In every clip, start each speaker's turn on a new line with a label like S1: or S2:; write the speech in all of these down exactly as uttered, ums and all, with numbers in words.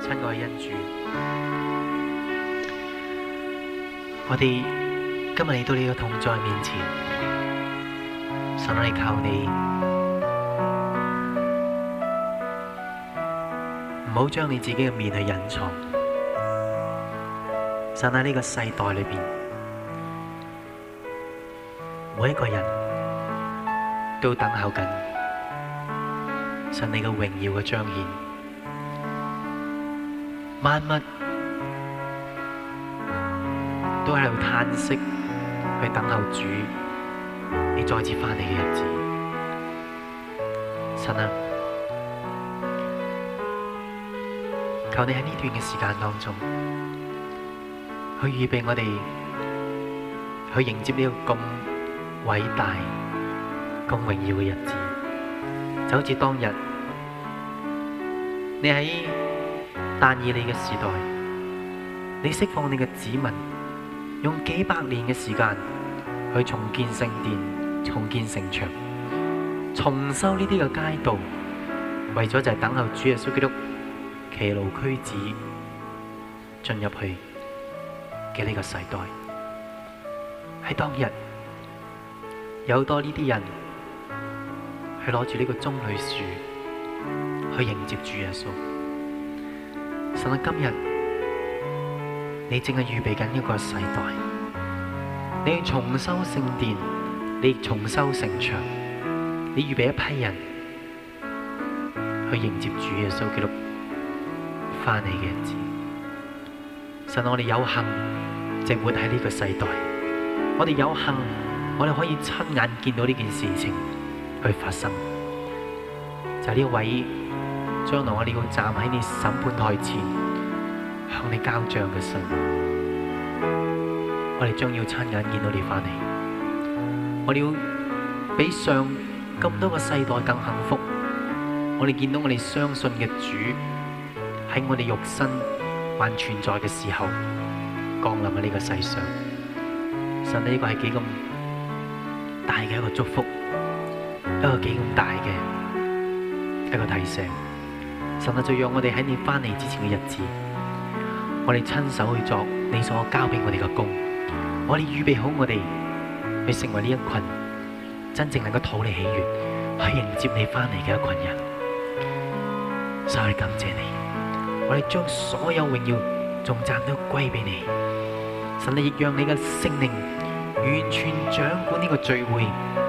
S1: 親愛嘅恩主，我哋今日嚟到你嘅同在面前，神我哋求你，唔好將你自己嘅面去隱藏。神喺呢個世代裏邊，每一個人都等候緊神你嘅榮耀嘅彰顯。萬物都喺度嘆息，去等候主你再次翻嚟嘅日子。神啊，求你喺呢段嘅時間當中，去預備我哋去迎接呢個咁偉大、咁榮耀嘅日子。就好似當日你喺但以理嘅時代，你釋放你嘅子民，用幾百年嘅時間去重建聖殿、重建城牆、重修呢啲嘅街道，為咗就係等候主耶穌基督騎驢駒子進入去嘅呢個世代。喺當日有好多呢啲人去攞住呢個棕櫚樹去迎接主耶穌。神啊，今日你正係預備緊一個世代，你要重修聖殿，你重修城牆，你預備一批人去迎接主耶穌基督翻嚟嘅日子。神啊，我哋有幸正活喺呢個世代，我哋有幸，我哋可以親眼見到呢件事情去發生。就係呢位將來我哋要站喺你審判台前向你交賬嘅神，我哋將要親眼見到你翻嚟，我哋要比上咁多個世代更幸福。我哋見到我哋相信嘅主喺我哋肉身還存在嘅時候降臨喺呢個世上。神，呢個係幾咁大嘅一個祝福，一個幾咁大嘅一個提醒。神啊，就讓我哋喺你翻嚟之前嘅日子，我哋親手去做你所交俾我哋嘅工，我哋預備好我哋去成為呢一群真正能夠討你喜悅，去迎接你翻嚟嘅一群人。所以我哋感謝你，我哋將所有榮耀頌讚都歸俾你。神，你亦讓你嘅聖靈完全掌管呢個聚會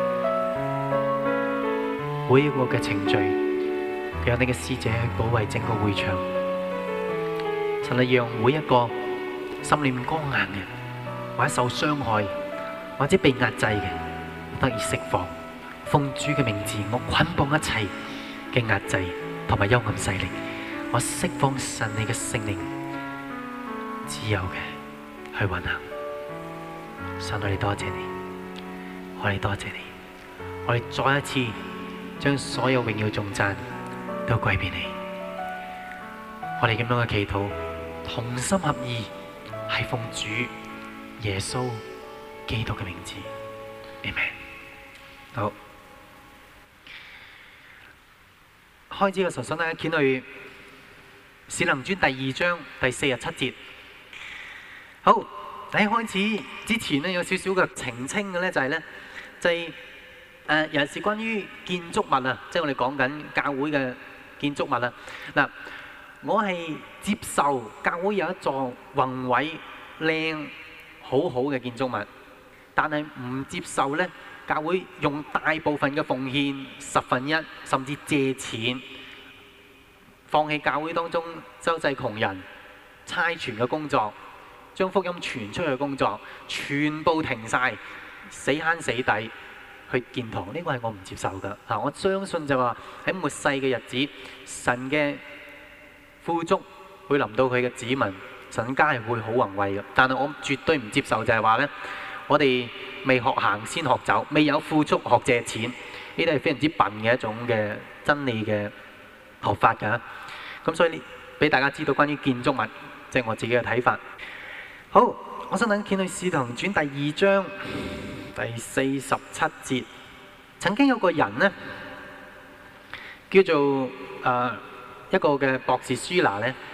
S1: 每一個嘅程序，讓你嘅使者去保衛整個會場。神，你讓每一個心裏面剛硬嘅，或者受傷害，或者被壓制嘅，得以釋放。奉主嘅名字，我捆綁一切嘅壓制同埋幽暗勢力，我釋放神你嘅聖靈自由嘅去運行。神，我哋多謝你，我哋多謝你，我哋再一次將所有榮耀頌讚都歸俾你。我哋咁樣嘅祈禱，同心合意，係奉主耶穌基督嘅名字。阿們。好，開始嘅時候，想大家見去使徒行傳第二章第四十七節。好，喺開始之前咧，有少少嘅澄清嘅咧，就係咧，就係誒，尤其是關於建築物啊，即係我哋講緊教會嘅建築物啊。嗱，我係接受教會有一座宏偉、靚、好好嘅建築物，但係唔接受咧，教會用大部分嘅奉獻十分一，甚至借錢，放棄教會當中周濟窮人、差傳嘅工作，將福音傳出去嘅工作，全部停晒，死慳死抵去建堂。呢個係我唔接受㗎。嗱，我相信就話喺末世嘅日子，神嘅富足會臨到佢嘅子民，神家係會好宏偉嘅。但係我絕對唔接受就係話咧，我哋未學行先學走，未有富足學借錢，呢啲係非常之笨嘅一種嘅真理嘅學法㗎。咁所以呢，俾大家知道關於建築物，即係我自己嘅睇法。好，我想等見到《使徒行傳》第二章第四十七節，曾經有個人呢，叫做誒、呃、一個嘅博士舒拿呢，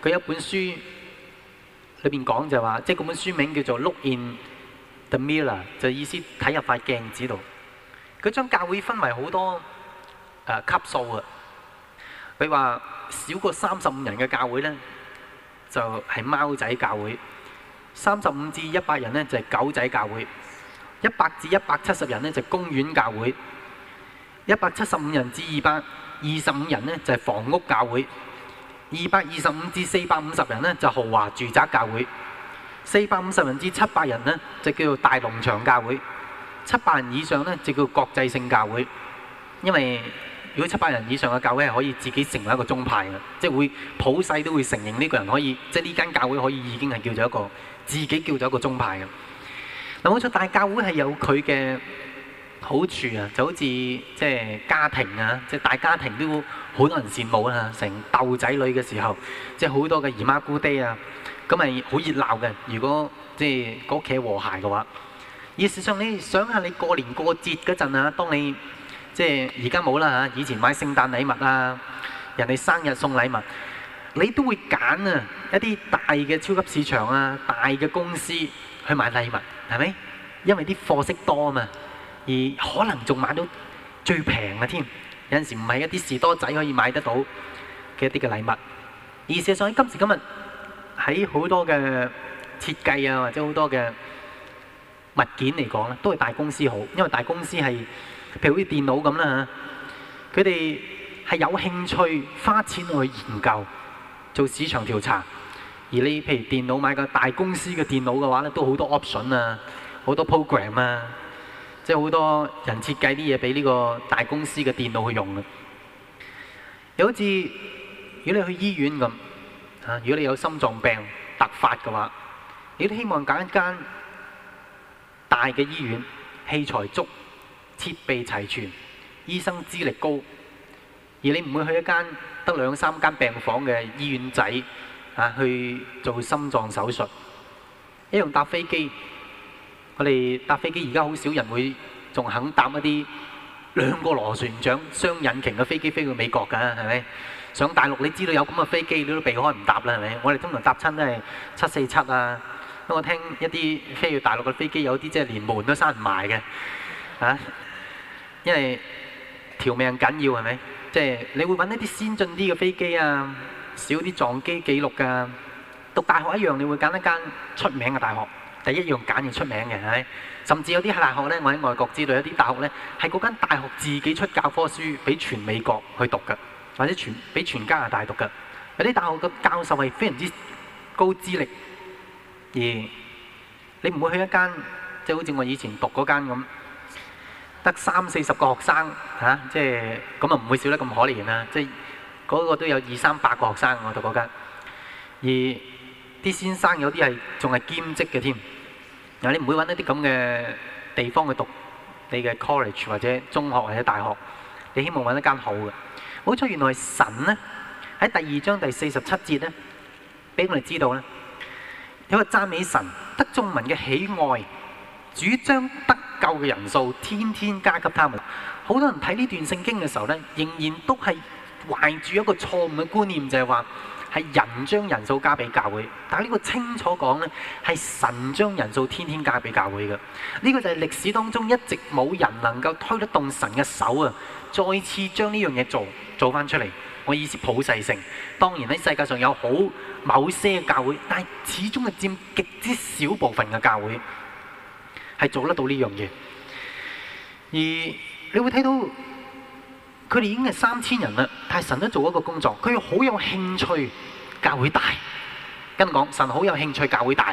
S1: 佢有一本書裏邊講就話，即係嗰本書名叫做《Look in the Mirror》，就意思睇入塊鏡子度。佢將教會分為好多誒、呃、級數啊。佢話少過三十五人嘅教會咧，就係、是、貓仔教會；三十五至一百人咧就係、是、狗仔教會；一百至一百七十人咧就係、是、公園教會；一百七十五人至二百二十五人咧就係、是、房屋教會；二百二十五至四百五十人咧就豪華住宅教會；四百五十人至七百人咧就叫做大農場教會；七百人以上咧就叫國際性教會。因為如果七百人以上嘅教會係可以自己成為一個宗派嘅，即係會普世都會承認呢個人可以，即係呢間教會可以已經係叫做一個自己叫做一個宗派嘅。嗱，冇錯，但係教會係有佢嘅好處啊，就好似即係家庭啊，即係大家庭都好多人羨慕啊，成竇仔女嘅時候，即係好多嘅姨媽姑爹啊，咁係好熱鬧嘅。如果即係個屋企和諧嘅話，而事實上你想下，你過年過節嗰陣啊，當你即係而家冇啦嚇，以前買聖誕禮物啊，人哋生日送禮物，你都會揀啊一啲大嘅超級市場啊、大嘅公司去買禮物，係咪？因為啲貨色多啊嘛，而可能仲買到最平嘅添。有陣時唔係一啲士多仔可以買得到嘅一啲嘅禮物。而事實上喺今時今日喺好多嘅設計啊，或者好多嘅物件嚟講咧，都係大公司好，因為大公司係。譬如好似電腦咁啦嚇，佢哋係有興趣花錢去研究做市場調查。而你譬如電腦買個大公司嘅電腦嘅話咧，都好多 option 啊，好多 program 啊，即係好多人設計啲嘢俾呢個大公司嘅電腦去用嘅。又好似如果你去醫院咁嚇，如果你有心臟病突發嘅話，你都希望揀一間大嘅醫院，器材足，設備齊全，醫生資歷高，而你唔會去一間得兩三間病房嘅醫院仔啊去做心臟手術。一樣搭飛機，我哋搭飛機而家好少人會仲肯搭一啲兩個螺旋槳雙引擎嘅飛機飛去美國㗎，係咪？上大陸你知道有咁嘅飛機，你都避開唔搭啦，係咪？我哋通常搭親都係七四七啊。我聽一啲飛去大陸嘅飛機，有啲即係連門都閂唔埋嘅，啊！因為條命緊要，係咪？即係你會揾一啲先進啲嘅飛機啊，少啲撞機記錄㗎。讀大學一樣，你會揀一間出名嘅大學，第一樣揀要出名嘅，係咪？甚至有啲大學呢，我喺外國知道有啲大學呢，係嗰間大學自己出教科書俾全美國去讀㗎，或者全俾全加拿大讀㗎。有啲大學嘅教授係非常之高資歷，而你唔會去一間即係好似我以前讀嗰間咁。得三四十個學生嚇、啊，即係咁啊，唔會少得咁可憐啦！即係嗰個都有二三百個學生我讀嗰間，而啲先生有啲係仲係兼職嘅添。嗱，你唔會揾一啲咁嘅地方去讀你嘅 college 或者中學或者大學，你希望揾一間好嘅。好彩原來神呢，喺第二章第四十七節呢，俾我哋知道呢，有個讚美神得眾民嘅喜愛。主將得救嘅人數天天加給他們。好多人睇呢段聖經嘅時候呢，仍然都係懷住一個錯誤嘅觀念，就係話係人將人數加俾教會。但係呢個清楚講呢，係神將人數天天加俾教會嘅。呢、這個就係歷史當中一直冇人能夠推得動神嘅手啊！再次將呢樣嘢做做翻出嚟。我意思普世性。當然喺世界上有好某些教會，但係始終係佔極之少部分嘅教會。係做得到呢樣嘢，而你會睇到佢哋已經係三千人啦，但係神都做一個工作，佢好有興趣教會大。跟講神好有興趣教會大，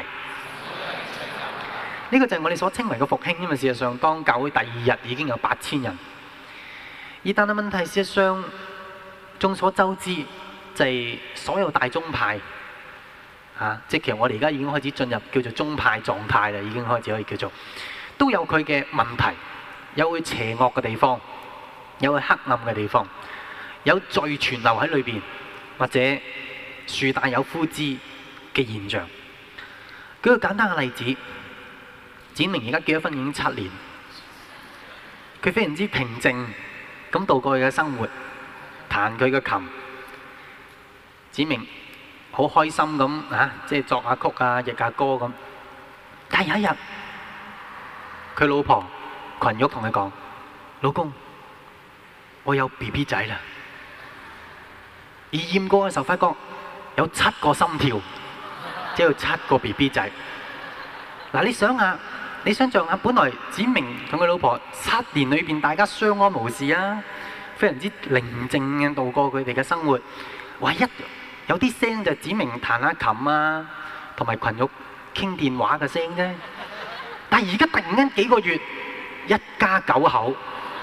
S1: 呢個就係我哋所稱為嘅復興。因為事實上，當教會第二日已經有八千人，而但係問題事實上，眾所周知就係所有大宗派。啊！即係其實我哋而家已經開始進入叫做宗派狀態啦，已經開始可以叫做都有佢嘅問題，有佢邪惡嘅地方，有佢黑暗嘅地方，有罪存留喺裏邊，或者樹大有枯枝嘅現象。舉個簡單嘅例子，展明而家結咗婚已經七年，佢非常之平靜咁度過佢嘅生活，彈佢嘅琴。展明好開心咁啊，即係作下曲啊、譯下歌咁。但係有一日，佢老婆群玉同佢講：老公，我有 B B 仔啦。而驗過嘅時候，發覺有七個心跳，即係有七個 B B 仔。嗱，你想下，你想象下，本來子明同佢老婆七年裏邊大家相安無事啊，非常之寧靜嘅度過佢哋嘅生活。唯一有啲聲就係子明彈下琴啊，同埋群玉傾電話嘅聲啫。但係而家突然間幾個月，一家九口，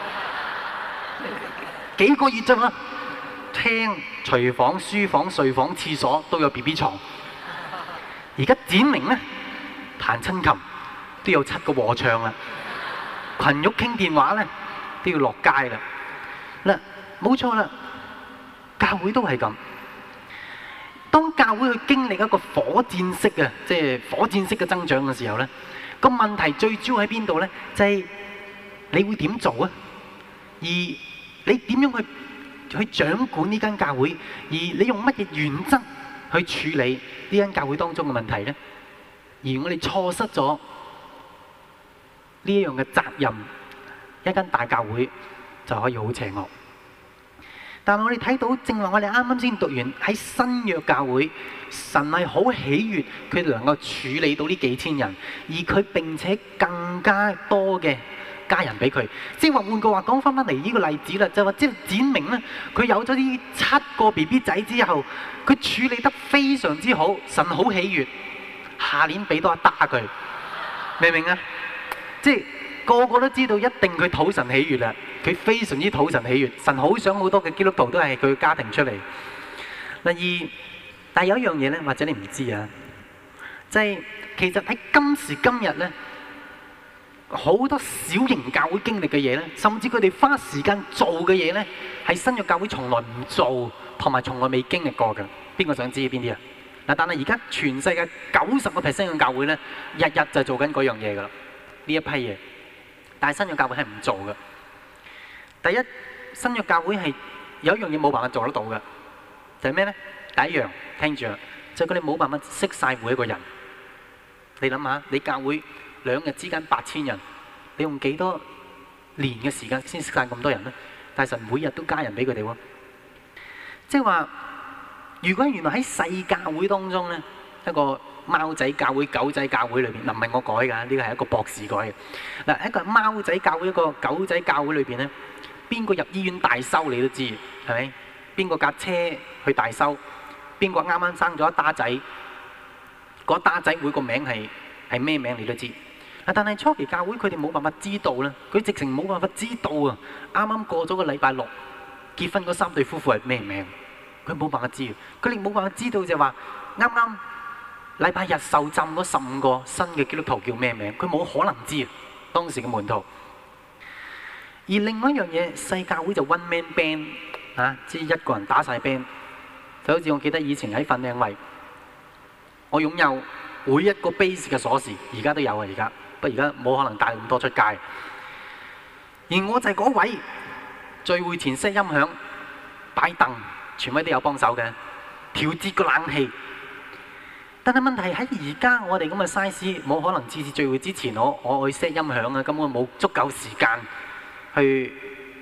S1: 幾個月啫嘛，廳、廚房、書房、睡房、廁所都有 B B 床。而家展明咧彈親琴都有七個和唱啦，群玉傾電話咧都要落街啦。嗱，冇錯啦，教會都係咁。當教會去經歷一個火箭式嘅，即係火箭式嘅增長嘅時候咧，個問題最主要喺邊度咧？就係你會點做啊？而你點樣去去掌管呢間教會？而你用乜嘢原則去處理呢間教會當中嘅問題咧？而我哋錯失咗呢一樣嘅責任，一間大教會就可以好邪惡。但係我哋睇到，正話我哋啱啱先讀完喺新約教會，神係好喜悅佢哋能夠處理到呢幾千人，而佢並且更加多嘅家人俾佢。即係話換句話講翻翻嚟呢個例子啦，就話即係展明咧，佢有咗呢七個 B B 仔之後，佢處理得非常之好，神好喜悅，下年俾多一打佢，明唔明啊？即係個個都知道一定佢討神喜悅啦。佢非常之討神喜悅，神好想好多嘅基督徒都係佢嘅家庭出嚟。第二，但係有一樣嘢咧，或者你唔知啊，就係其實喺今時今日咧，好多小型教會經歷嘅嘢咧，甚至佢哋花時間做嘅嘢咧，係新約教會從來唔做，同埋從來未經歷過嘅。邊個想知邊啲啊？嗱，但係而家全世界九十個 percent 嘅教會咧，日日就做緊嗰樣嘢噶啦，呢一批嘢。但係新約教會係唔做嘅。第一，新約教會係有一樣嘢冇辦法做得到嘅，就係咩咧？第一樣，聽住啦，就係佢哋冇辦法識晒每一個人。你諗下，你教會兩日之間八千人，你用幾多年嘅時間先識晒咁多人咧？但係神每日都加人俾佢哋喎。即係話，如果原來喺細教會當中咧，一個貓仔教會、狗仔教會裏邊，嗱唔係我改㗎，呢個係一個博士改嘅。嗱，一個貓仔教會、一個狗仔教會裏邊咧。邊個入醫院大修你都知，係咪？邊個架車去大修？邊個啱啱生咗一打仔？嗰打仔每個名係係咩名你都知。但係初期教會佢哋冇辦法知道啦，佢直情冇辦法知道啊！啱啱過咗個禮拜六結婚嗰三對夫婦係咩名？佢冇辦法知，佢哋冇辦法知道就係話啱啱禮拜日受浸嗰十五個新嘅基督徒叫咩名？佢冇可能知當時嘅門徒。而另外一樣嘢，細教會就 one man band 啊，即係一個人打晒 band，就好似我記得以前喺粉嶺圍，我擁有每一個 base 嘅鎖匙，而家都有啊，而家不過而家冇可能帶咁多出街。而我就係嗰位聚會前 set 音響、擺凳，全位都有幫手嘅，調節個冷氣。但係問題喺而家我哋咁嘅 size，冇可能次次聚會之前我我去 set 音響啊，根本冇足夠時間。去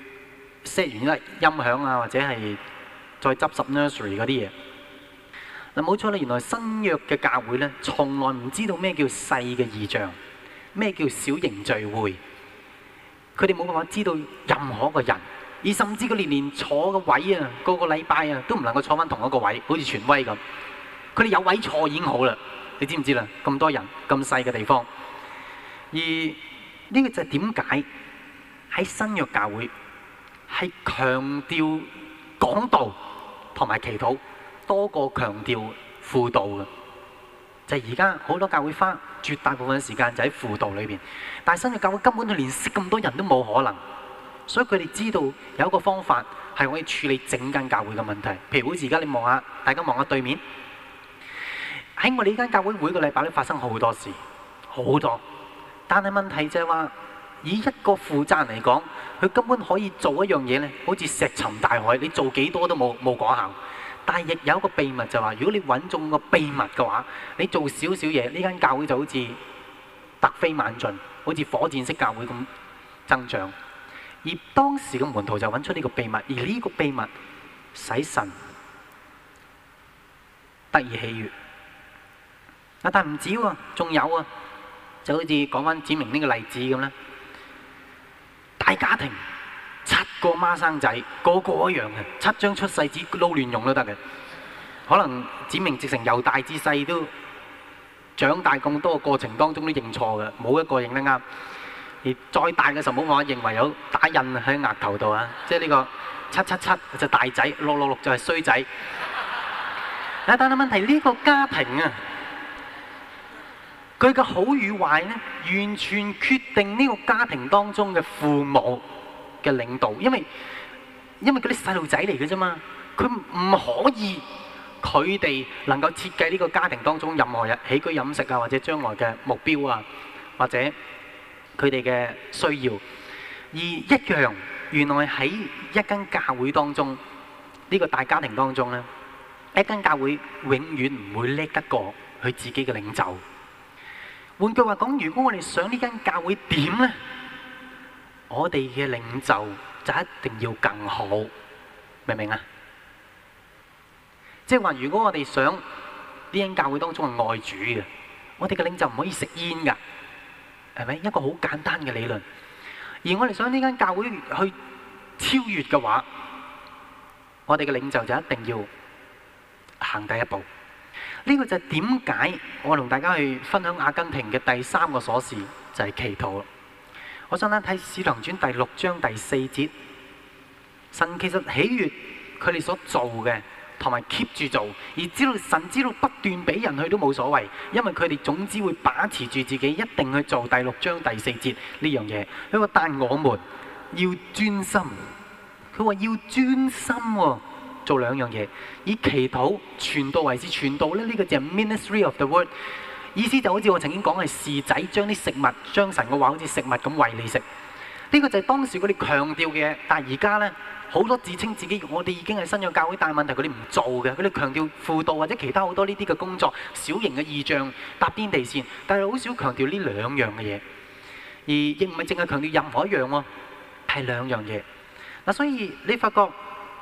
S1: set 完呢音響啊，或者係再執拾 nursery 嗰啲嘢。嗱，冇錯啦，原來新約嘅教會咧，從來唔知道咩叫細嘅異象，咩叫小型聚會。佢哋冇辦法知道任何一個人，而甚至佢年年坐嘅位啊，個個禮拜啊，都唔能夠坐翻同一個位，好似權威咁。佢哋有位坐已經好啦，你知唔知啦？咁多人，咁細嘅地方。而呢個就係點解？喺新約教會係強調講道同埋祈禱多過強調輔導嘅，就係而家好多教會花絕大部分嘅時間就喺輔導裏邊，但係新約教會根本佢連識咁多人都冇可能，所以佢哋知道有一個方法係可以處理整間教會嘅問題。譬如好似而家你望下，大家望下對面，喺我哋呢間教會每個禮拜都發生好多事，好多，但係問題就係話，以一個負責人嚟講，佢根本可以做一樣嘢咧，好似石沉大海，你做幾多都冇冇果效。 但係亦有一個秘密就話，如果你揾中個秘密嘅話，你做少少嘢，呢間教會就好似突飛猛進，好似火箭式教會咁增長。而當時嘅門徒就揾出呢個秘密，而呢個秘密使神得以喜悅。啊，但唔止喎，仲有啊，就好似講翻指明呢個例子咁啦。大家庭七個孖生仔，個個一樣嘅，七張出世紙撈亂用都得嘅。可能指明直成由大至細都長大咁多個過程當中都認錯嘅，冇一個認得啱。而再大嘅時候冇話認為有打印喺額頭度啊，即係呢個七七七就大仔，六六六就係衰仔。但係問題呢個家庭啊，佢嘅好與壞咧，完全決定呢個家庭當中嘅父母嘅領導，因為因為嗰啲細路仔嚟嘅啫嘛，佢唔可以佢哋能夠設計呢個家庭當中任何日起居飲食啊，或者將來嘅目標啊，或者佢哋嘅需要。而一樣，原來喺一間教會當中，呢個大家庭當中咧，一間教會永遠唔會叻得過佢自己嘅領袖。換句話講，如果我哋想呢間教會點咧，我哋嘅領袖就一定要更好，明唔明啊？即係話，如果我哋想呢間教會當中係愛主嘅，我哋嘅領袖唔可以食煙㗎，係咪？一個好簡單嘅理論。而我哋想呢間教會去超越嘅話，我哋嘅領袖就一定要行第一步。呢個就係點解我同大家去分享阿根廷嘅第三個鎖匙，就係祈禱。我想睇《使徒行傳》第六章第四節，神其實喜悅佢哋所做嘅，同埋 keep 住做，而知道神知道不斷俾人去都冇所謂，因為佢哋總之會把持住自己，一定去做第六章第四節呢樣嘢。佢話但我們要專心，佢話要專心喎。做兩樣嘢，以祈禱傳道為是傳道咧，呢、這個就係 ministry of the word， 意思就好似我曾經講係侍仔將啲食物，將神嘅話好似食物咁餵你食。呢、這個就係當時佢哋強調嘅，但係而家咧好多自稱自己，我哋已經係新約教會，但係問題佢哋唔做嘅，佢哋強調輔導或者其他好多呢啲嘅工作，小型嘅異象搭天地線，但係好少強調呢兩樣嘅嘢，而亦唔係淨係強調任何一樣喎，係兩樣嘢。嗱，所以你發覺。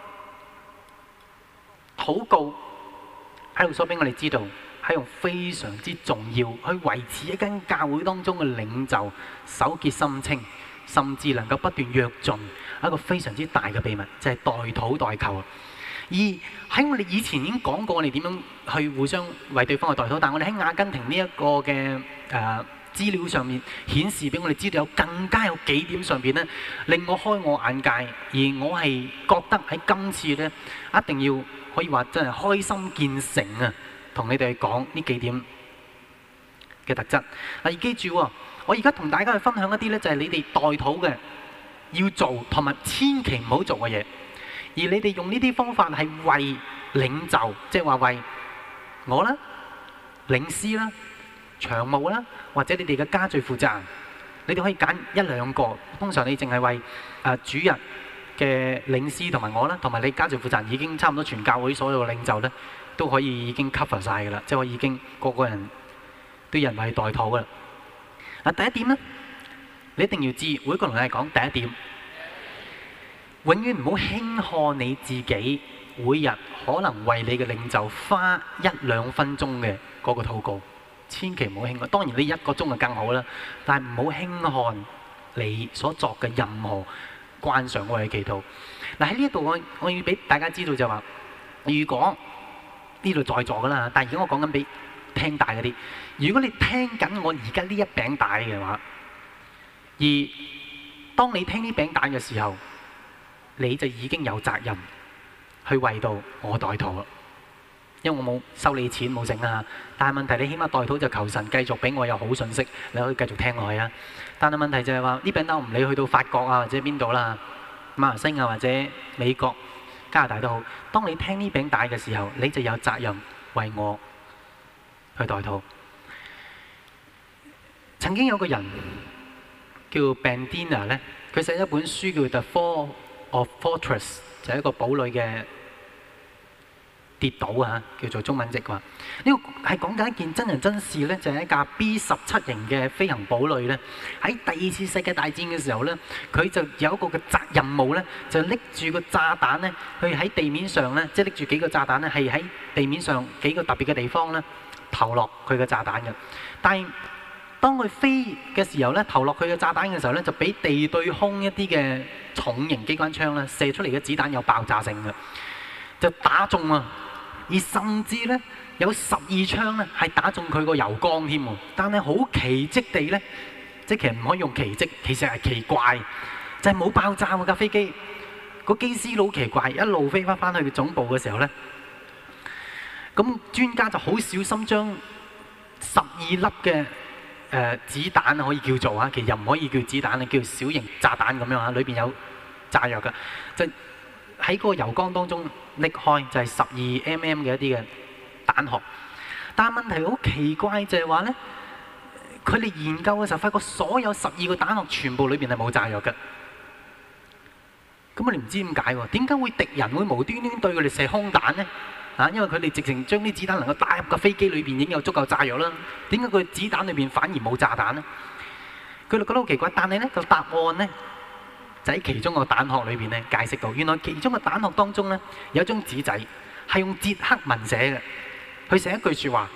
S1: 禱告喺度所俾我哋知道，係用非常之重要去維持一間教會當中嘅領袖手潔心清，甚至能夠不斷躍進一個非常之大嘅秘密，就係代禱代求。而喺我哋以前已經講過，我哋點樣去互相為對方去代禱，但係我哋喺阿根廷呢一個嘅誒資料上面顯示俾我哋知道，有更加有幾點上邊咧令我開我眼界，而我係覺得喺今次咧一定要。可以話真係開心見誠啊！同你哋講呢幾點嘅特質。嗱，而記住喎，我而家同大家去分享一啲咧，就係你哋代禱嘅要做同埋千祈唔好做嘅嘢。而你哋用呢啲方法係為領袖，即係話為我啦、領師啦、長務啦，或者你哋嘅家聚負責人，你哋可以揀一兩個。通常你淨係為誒主日嘅領師同埋我啦，同埋你家族負責人已經差唔多全教會所有嘅領袖咧，都可以已經 cover 晒㗎啦，即係我已經個個人都有人為代禱㗎啦。嗱，第一點咧，你一定要知，每一個同你講第一點，永遠唔好輕看你自己，每日可能為你嘅領袖花一兩分鐘嘅嗰個禱告，千祈唔好輕看。當然你一個鐘就更好啦，但係唔好輕看你所作嘅任何慣常我哋嘅祈禱。嗱，喺呢一度我我要俾大家知道就話，如果呢度在座噶啦，但係而家我講緊俾聽大嗰啲，如果你聽緊我而家呢一餅帶嘅話，而當你聽呢餅帶嘅時候，你就已經有責任去為到我代禱啦。因為我冇收你錢冇剩啊，但係問題你起碼代禱就求神繼續俾我有好信息，你可以繼續聽落去啊。但係問題就係話呢餅帶我唔理去到法國啊或者邊度啦，馬來西亞或者美國、加拿大都好。當你聽呢餅帶嘅時候，你就有責任為我去代禱。曾經有個人叫 Bandina 咧，佢寫一本書叫《The Fall of Fortress》，就係一個堡壘嘅跌倒啊，叫做中文譯話。呢個係講緊一件真人真事咧，就係一架 B 十七型嘅飛行堡壘咧，喺第二次世界大戰嘅時候咧，佢就有一個嘅責任務咧，就拎住個炸彈咧，去喺地面上咧，即係拎住幾個炸彈咧，係喺地面上幾個特別嘅地方咧投落佢嘅炸彈嘅。但係當佢飛嘅時候咧，投落佢嘅炸彈嘅時候咧，就俾地對空一啲嘅重型機關槍咧射出嚟嘅子彈有爆炸性嘅，就打中啊！而甚至咧有十二槍咧係打中佢個油缸添喎，但係好奇蹟地咧，即係其實唔可以用奇蹟，其實係奇怪，就係冇爆炸喎架飛機。個機師佬奇怪，一路飛翻翻去總部嘅時候咧，咁專家就好小心將十二粒嘅誒子彈可以叫做啊，其實又唔可以叫子彈，你叫小型炸彈咁樣啊，裏邊有炸藥㗎，就喺嗰個油缸當中拎開，就係十二 mm 嘅一啲嘅彈殼。但係問題好奇怪就係話咧，佢哋研究嘅時候發覺所有十二個彈殼全部裏邊係冇炸藥嘅。咁我哋唔知點解喎？點解會敵人會無端端對佢哋射空彈咧？啊，因為佢哋直情將啲子彈能夠打入個飛機裏邊已經有足夠炸藥啦。點解佢子彈裏邊反而冇炸彈咧？佢哋覺得好奇怪，但係咧個答案咧就喺其中個彈殼裏邊咧解釋到，原來其中個彈殼當中咧有一張紙仔係用捷克文寫嘅，佢寫一句説話：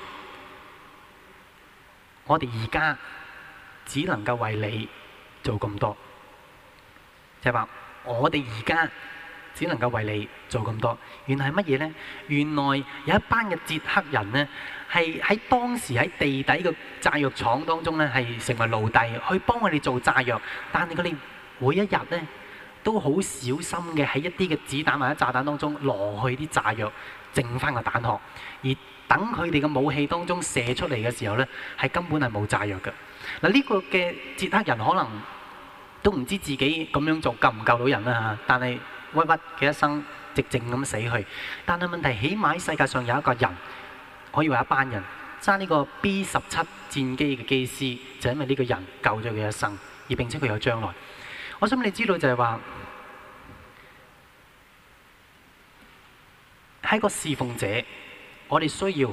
S1: 我哋而家只能夠為你做咁多，就係話我哋而家只能夠為你做咁多。原來係乜嘢呢？原來有一班嘅捷克人呢，係喺當時喺地底嘅炸藥廠當中呢，係成為奴隸，去幫佢哋做炸藥。但係佢哋每一日呢，都好小心嘅喺一啲嘅子彈或者炸彈當中攞去啲炸藥，剩翻個彈殼，而等佢哋嘅武器當中射出嚟嘅時候呢，係根本係冇炸藥嘅。嗱，呢個嘅捷克人可能都唔知自己咁樣做救唔救到人啦嚇，但係屈屈嘅一生寂靜咁死去。但係問題，起碼喺世界上有一個人，可以話一班人揸呢個 B 十七戰機嘅機師，就因為呢個人救咗佢一生，而並且佢有將來。我想你知道就係話，喺個侍奉者，我哋需要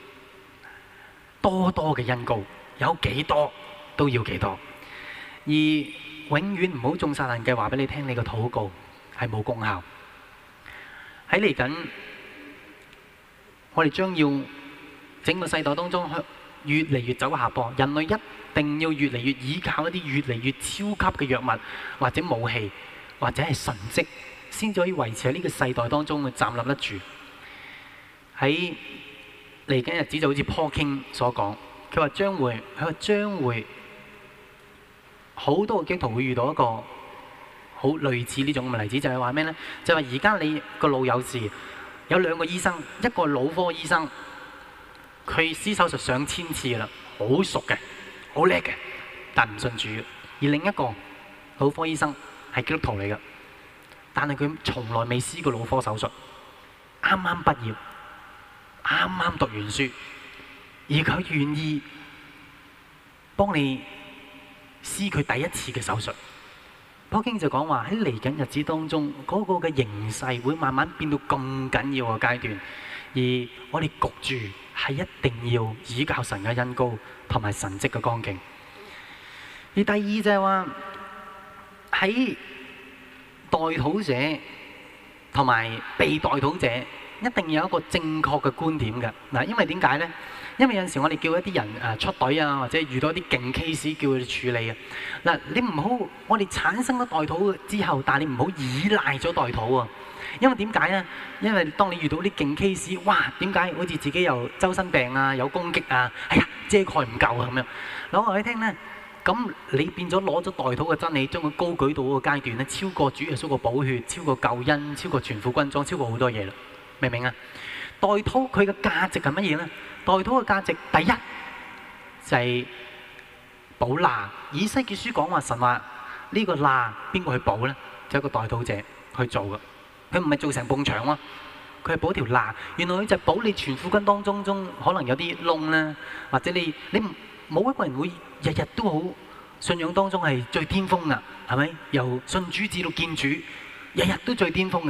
S1: 多多嘅恩膏，有幾多都要幾多，而永遠唔好中撒旦計話俾你聽，你個禱告係冇功效。喺嚟緊，我哋將要整個世代當中越嚟越走下坡，人類一定要越嚟越依靠一啲越嚟越超級嘅藥物或者武器或者係神蹟，先至可以維持喺呢個世代當中去站立得住。喺嚟緊日子就好似 Paul King 所講，佢話將會，佢話將會好多個基督徒會遇到一個好類似呢種咁嘅例子，就係話咩呢？就係話而家你個腦有事，有兩個醫生，一個腦科醫生，佢施手術上千次啦，好熟嘅，好叻嘅，但唔信主；而另一個腦科醫生係基督徒嚟嘅，但係佢從來未施過腦科手術，啱啱畢業，啱啱讀完書，而佢願意幫你施佢第一次嘅手術。普京就講話喺嚟緊日子當中，嗰個嘅形勢會慢慢變到咁緊要嘅階段，而我哋焗住係一定要倚靠神嘅恩膏同埋神蹟嘅光景。而第二就係話喺代禱者同埋被代禱者一定要有一個正確嘅觀點嘅嗱，因為點解呢？因為有陣時我哋叫一啲人誒出隊啊，或者遇到一啲勁 case 叫佢哋處理啊。嗱，你唔好我哋產生咗代禱之後，但係你唔好依賴咗代禱啊。因為點解呢？因為當你遇到啲勁 case，哇，點解好似自己又周身病啊，有攻擊啊，哎呀遮蓋唔夠啊咁樣。嗱，我話你聽呢，咁你變咗攞咗代禱嘅真理，將佢高舉到嗰個階段咧，超過主耶穌嘅寶血，超過救恩，超過全副軍裝，超過好多嘢啦。明唔明啊？代禱佢嘅價值係乜嘢呢？代禱嘅價值第一就係補罅。以西結書講話神話呢個罅邊個去補呢？就係一個代禱者去做嘅。佢唔係做成埲牆喎，佢係補條罅。原來佢就係補你全副軍當中中可能有啲窿啦，或者你你冇一個人會日日都好信仰當中係最巔峰㗎，係咪？由信主至到見主，日日都最巔峰嘅。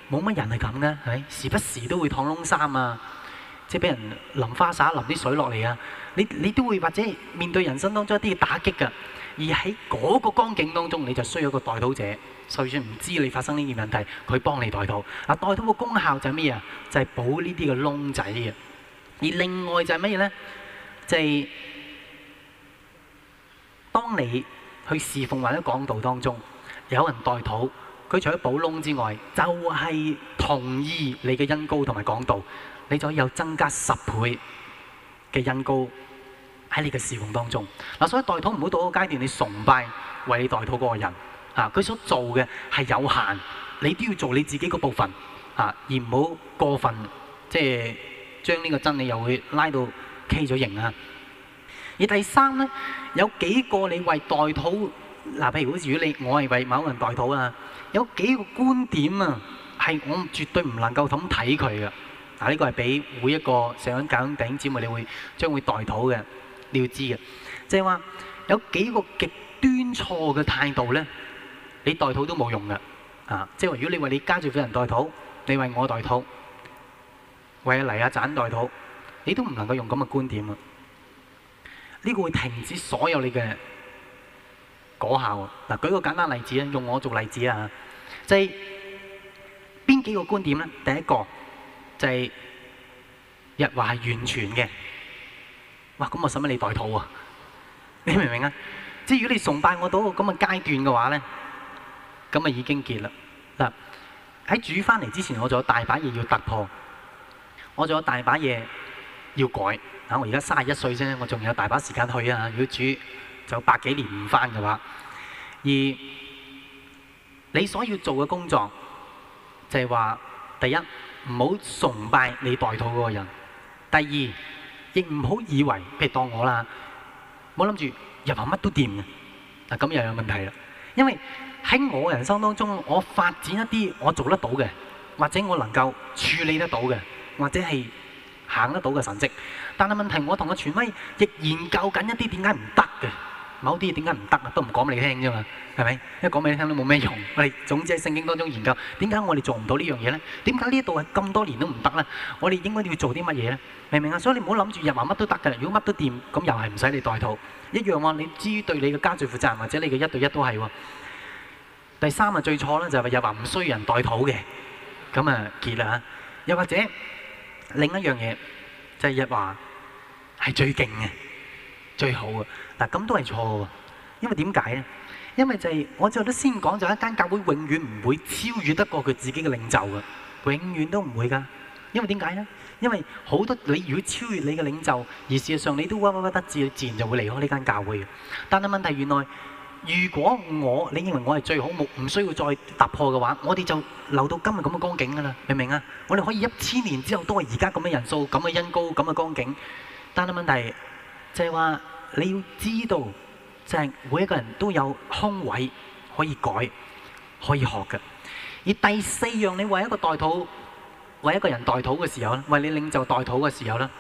S1: 冇乜人係咁嘅，係咪？時不時都會燙窿衫啊，即係俾人淋花灑、淋啲水落嚟啊！你你都會或者面對人生當中一啲嘅打擊㗎。而喺嗰個光景當中，你就需要一個代禱者，就算唔知你發生呢件問題，佢幫你代禱。嗱，代禱嘅功效就係咩啊？就係補呢啲嘅窿仔嘅。而另外就係乜嘢咧？就係、是、當你去侍奉或者講道當中，有人代禱，佢除咗補窿之外，就係、是、同意你嘅恩膏同埋講道，你就可以有增加十倍嘅恩膏喺你嘅侍奉當中。嗱，所以代禱唔好到嗰個階段，你崇拜為你代禱嗰個人啊，佢所做嘅係有限，你都要做你自己嗰部分啊，而唔好過分即係將呢個真理又會拉到畸咗形啊。而第三咧，有幾個你為代禱嗱，譬如好似如果你我係為某個人代禱啊，有幾個觀點啊，係我絕對唔能夠咁睇佢嘅。嗱，呢個係俾每一個想教弟兄姊妹，你會將會代禱嘅。你要知嘅，即係話有幾個極端錯嘅態度咧，你代禱都冇用嘅。啊，即係話如果你為你家住嘅人代禱，你為我代禱，為阿黎阿盞代禱，你都唔能夠用咁嘅觀點啊！呢個會停止所有你嘅果效。嗱，舉個簡單例子啊，用我做例子啊，就係邊幾個觀點咧？第一個就係日華係完全嘅。哇！咁我使乜你代禱啊？你明唔明啊？即係如果你崇拜我到咁嘅階段嘅話咧，咁啊已經結啦。嗱，喺主翻嚟之前，我仲有大把嘢要突破，我仲有大把嘢要改。啊，我而家三十一歲啫，我仲有大把時間去啊。如果主就百幾年唔翻嘅話，而你所要做嘅工作就係話，第一唔好崇拜你代禱嗰個人，第二，亦唔好以為，譬如當我啦，唔好諗住入行乜都掂嘅，嗱咁又有問題啦。因為喺我人生當中，我發展一啲我做得到嘅，或者我能夠處理得到嘅，或者係行得到嘅神蹟。但係問題，我同個傳威亦研究緊一啲點解唔得嘅，某啲嘢點解唔得啊，都唔講俾你聽啫嘛，係咪？因為講俾你聽都冇咩用。我哋總之喺聖經當中研究點解我哋做唔到呢樣嘢咧？點解呢一度係咁多年都唔得咧？我哋應該要做啲乜嘢咧？明唔明啊？所以你唔好諗住日華乜都得嘅，如果乜都掂，咁又係唔使你代禱一樣喎。你至於對你嘅家族負責人或者你嘅一對一都係喎。第三啊，最錯咧就係日華唔需要人代禱嘅，咁啊結啦嚇。又或者另一樣嘢就係日華係最勁嘅、最好嘅嗱，咁都係錯嘅。因為點解咧？因為就係我最後都先講，就一間教會永遠唔會超越得過佢自己嘅領袖嘅，永遠都唔會㗎。因為點解咧？因為好多你如果超越你嘅領袖，而事實上你都屈屈屈得志，自然就會離開呢間教會嘅。但係問題原來，如果我你認為我係最好，冇唔需要再突破嘅話，我哋就留到今日咁嘅光景㗎啦，明唔明啊？我哋可以一千年之後都係而家咁嘅人數、咁嘅恩膏、咁嘅光景。但係問題就係話你要知道，就係每一個人都有空位可以改、可以學嘅。而第四樣，你為一個代禱。為一個人代禱嘅時候咧，為你領袖代禱嘅時候咧，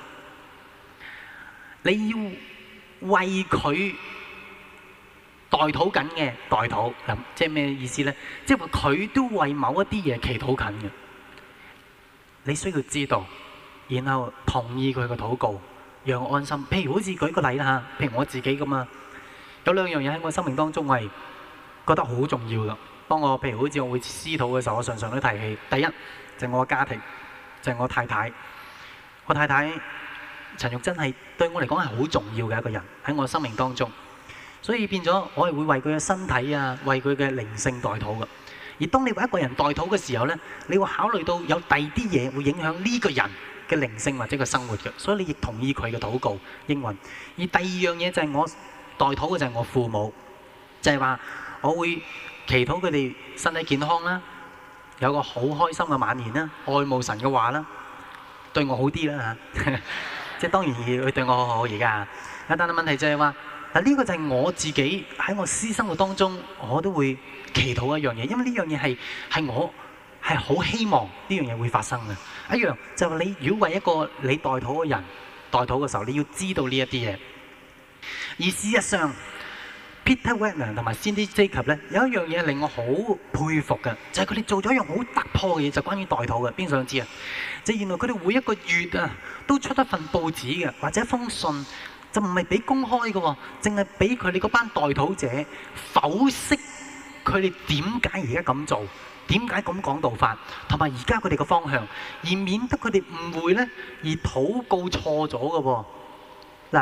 S1: 你要為佢代禱緊嘅代禱，咁即係咩意思咧？即係話佢都為某一啲嘢祈禱緊嘅，你需要知道，然後同意佢嘅禱告，讓我安心。譬如好似舉個例啦嚇，譬如我自己咁啊，有兩樣嘢喺我生命當中係覺得好重要㗎。當我譬如好似我會私禱嘅時候，我常常都提起，第一，就係我嘅家庭，就係我太太。我太太陳玉珍係對我嚟講係好重要嘅一個人喺我生命當中，所以變咗我係會為佢嘅身體啊，為佢嘅靈性代禱嘅。而當你為一個人代禱嘅時候呢，你會考慮到有第二啲嘢會影響呢個人嘅靈性或者個生活嘅，所以你亦同意佢嘅禱告應允。而第二樣嘢就係我代禱嘅就係我父母，就係話我會祈禱佢哋身體健康啦。有個好開心嘅晚年啦，愛慕神嘅話啦，對我好啲啦嚇，即係當然佢對我好好而家。但係問題就係話，嗱呢個就係我自己喺我私生活當中，我都會祈禱一樣嘢，因為呢樣嘢係係我係好希望呢樣嘢會發生嘅。一樣就係你如果為一個你代禱嘅人代禱嘅時候，你要知道呢一啲嘢。而事實上， Peter Wagner 同埋 Cindy Jacobs 咧，有一樣嘢令我好佩服嘅，就係佢哋做咗一樣好突破嘅嘢，就關於代禱嘅。邊個想知啊？就原來佢哋每一個月啊，都出一份報紙嘅，或者一封信，就唔係俾公開嘅喎，淨係俾佢哋嗰班代禱者剖析佢哋點解而家咁做，點解咁講道法，同埋而家佢哋嘅方向，而免得佢哋誤會咧，而禱告錯咗嘅喎。嗱，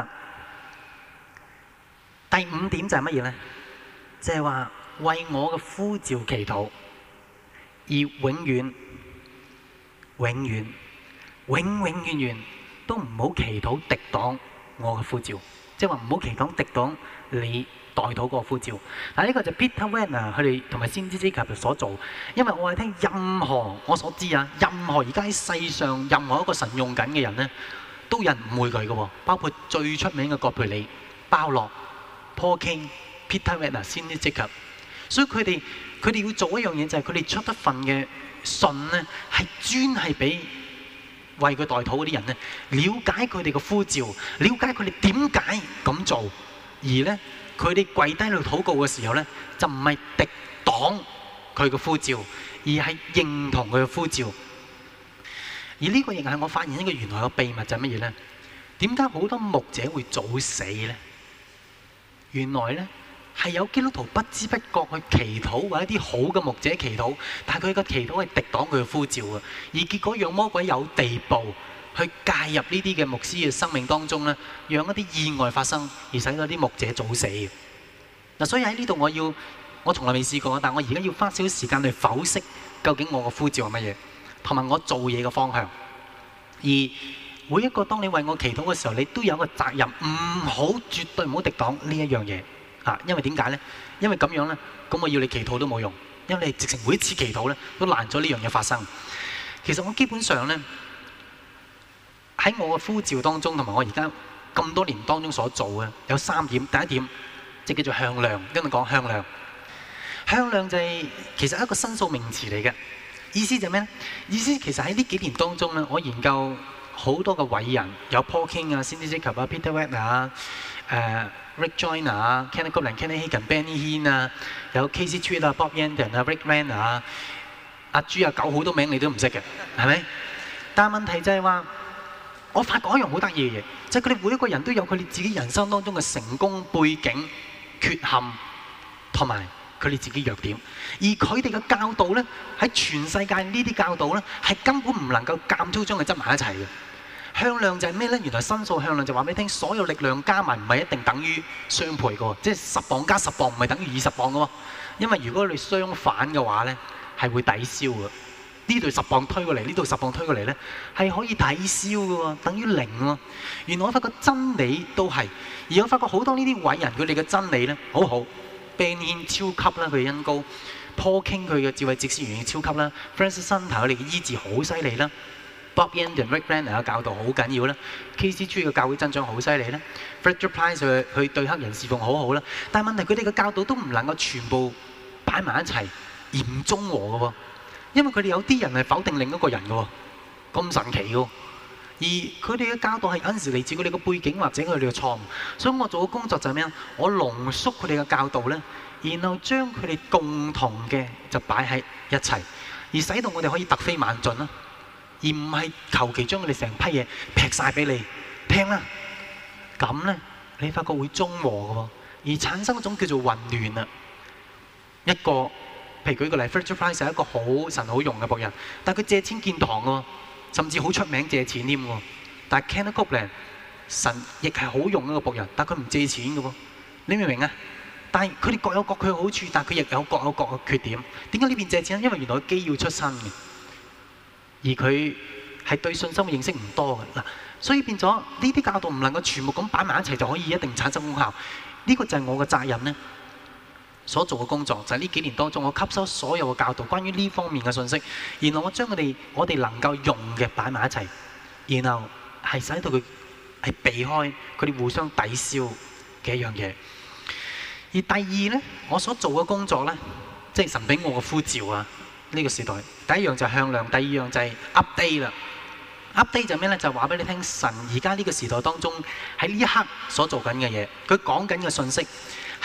S1: 第五點就係乜嘢咧？就係話為我嘅呼召祈禱，而永遠、永遠、永永遠遠都唔好祈禱敵擋我嘅呼召，即係話唔好祈禱敵擋你代禱嗰個呼召。嗱，呢個就 Peter Wagner 佢哋同埋先知之級所做，因為我係聽任何我所知啊，任何而家喺世上任何一個神用緊嘅人咧，都有人誤會佢嘅喎，包括最出名嘅葛培理、鮑洛、Paul King、Peter Wagner、先知之級。所以佢哋佢哋要做一樣嘢，就係佢哋出一份嘅信咧，係專係俾為佢代禱嗰啲人咧，了解佢哋嘅呼召，了解佢哋點解咁做，而咧佢哋跪低喺度禱告嘅時候咧，就唔係敵擋佢嘅呼召，而係認同佢嘅呼召。而呢個亦係我發現一個原來嘅秘密就係乜嘢咧？點解好多牧者會早死咧？原來咧係有基督徒不知不覺去祈禱，或者一啲好嘅牧者祈禱，但係佢嘅祈禱係敵擋佢嘅呼召嘅，而結果讓魔鬼有地步去介入呢啲嘅牧師嘅生命當中咧，讓一啲意外發生，而使到啲牧者早死。嗱，所以喺呢度我要，我從來未試過，但我而家要花少少時間去剖析究竟我嘅呼召係乜嘢，同埋我做嘢嘅方向。而每一個當你為我祈禱嘅時候，你都有一個責任，唔好絕對唔好敵擋呢一樣嘢。啊，因為點解咧？因為咁樣咧，咁我要你祈禱都冇用，因為你直情每一次祈禱咧，都攔咗呢樣嘢發生。其實我基本上咧，喺我嘅呼召當中，同埋我而家咁多年當中所做嘅有三點。第一點即係叫做向量，跟住講向量。向量就係其實一個申訴名詞嚟嘅，意思就係咩咧？意思其實喺呢幾年當中咧，我研究好多嘅偉人，有 Paul King 啊、Cindy Jacobs 啊、Peter Wagner 啊、誒Rick Joyner 啊、Kenneth Copeland、Kenny Hagin、Benny Hinn 啊，有 Casey Treat 啊、Bob Yandian 啊、Rick Renner 啊、阿豬阿狗好多名你都唔識嘅，係咪？但係問題就係話，我發覺一樣好得意嘅嘢，就係佢哋每一個人都有佢哋自己人生當中嘅成功背景、缺陷同埋佢哋自己弱點，而佢哋嘅教導咧，喺全世界呢啲教導咧，係根本唔能夠監粗將佢執埋一齊嘅。向量就係咩咧？原來申訴向量就話俾你聽，所有力量加埋唔係一定等於雙倍嘅喎，即係十磅加十磅唔係等於二十磅嘅喎。因為如果你相反嘅話咧，係會抵消嘅。呢度十磅推過嚟，呢度十磅推過嚟咧，係可以抵消嘅喎，等於零喎。原來我發覺真理都係，而我發覺好多呢啲偉人佢哋嘅真理咧，好好。Ben Hinn 超級啦，佢嘅恩膏 ；Paul King 佢嘅智慧哲思原理超級啦 ；Francis Hunter 佢哋嘅醫治好犀利啦 ；Bob Yandian、Rick Renner 嘅教導好緊要啦 ；Casey Treat 嘅教會增長好犀利啦 ；Frederick Price 佢佢對黑人侍奉好好啦。但係問題佢哋嘅教導都唔能夠全部擺埋一齊，而唔中和嘅喎，因為佢哋有啲人係否定另一個人嘅喎，咁神奇嘅喎。而佢哋嘅教導係有陣時嚟自佢哋嘅背景或者佢哋嘅錯誤，所以我做嘅工作就係咩啊？我濃縮佢哋嘅教導咧，然後將佢哋共同嘅就擺喺一齊，而使到我哋可以突飛猛進啦，而唔係求其將佢哋成批嘢劈晒俾你聽啦。咁咧，你發覺會中和嘅喎，而產生一種叫做混亂啊。一個譬如舉個例 Frederick Price 係一個好神好用嘅僕人，但係佢借錢建堂嘅喎。甚至好出名借錢添喎，但係 Kenneth Copeland 神亦係好用一個僕人，但係佢唔借錢嘅喎，你明唔明啊？但係佢哋各有各佢嘅好處，但係佢亦有各有各嘅缺點。點解呢邊借錢？因為原來佢基要出身嘅，而佢係對信心嘅認識唔多嘅嗱，所以變咗呢啲教導唔能夠全部咁擺埋一齊就可以一定產生功效。呢個就係我嘅責任咧，所做嘅工作就係呢幾年當中，我吸收所有嘅教導關於呢方面嘅信息，然後我將佢哋我哋能夠用嘅擺埋一齊，然後係使到佢係避開佢哋互相抵消嘅一樣嘢。而第二咧，我所做嘅工作咧，即係神俾我嘅呼召啊！呢個時代第一樣就係向量，第二樣就係 update 啦。update 就係咩咧？就話俾你聽，神而家呢個時代當中喺呢一刻所做緊嘅嘢，佢講緊嘅信息。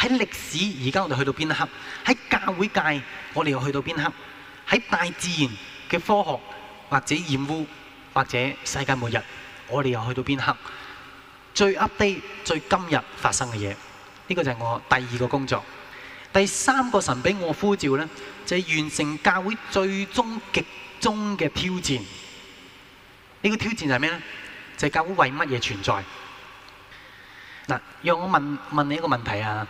S1: 喺歷史而家我哋去到邊一刻？喺教會界我哋又去到邊一刻？喺大自然嘅科學或者染污或者世界末日，我哋又去到邊一刻？最 update 最今日發生嘅嘢，呢個就係我第二個工作。第三個神俾我呼召呢，就係完成教會最終極終嘅挑戰。呢個挑戰就係咩呢？就係教會為乜嘢存在？嗱，讓我問問你一個問題啊，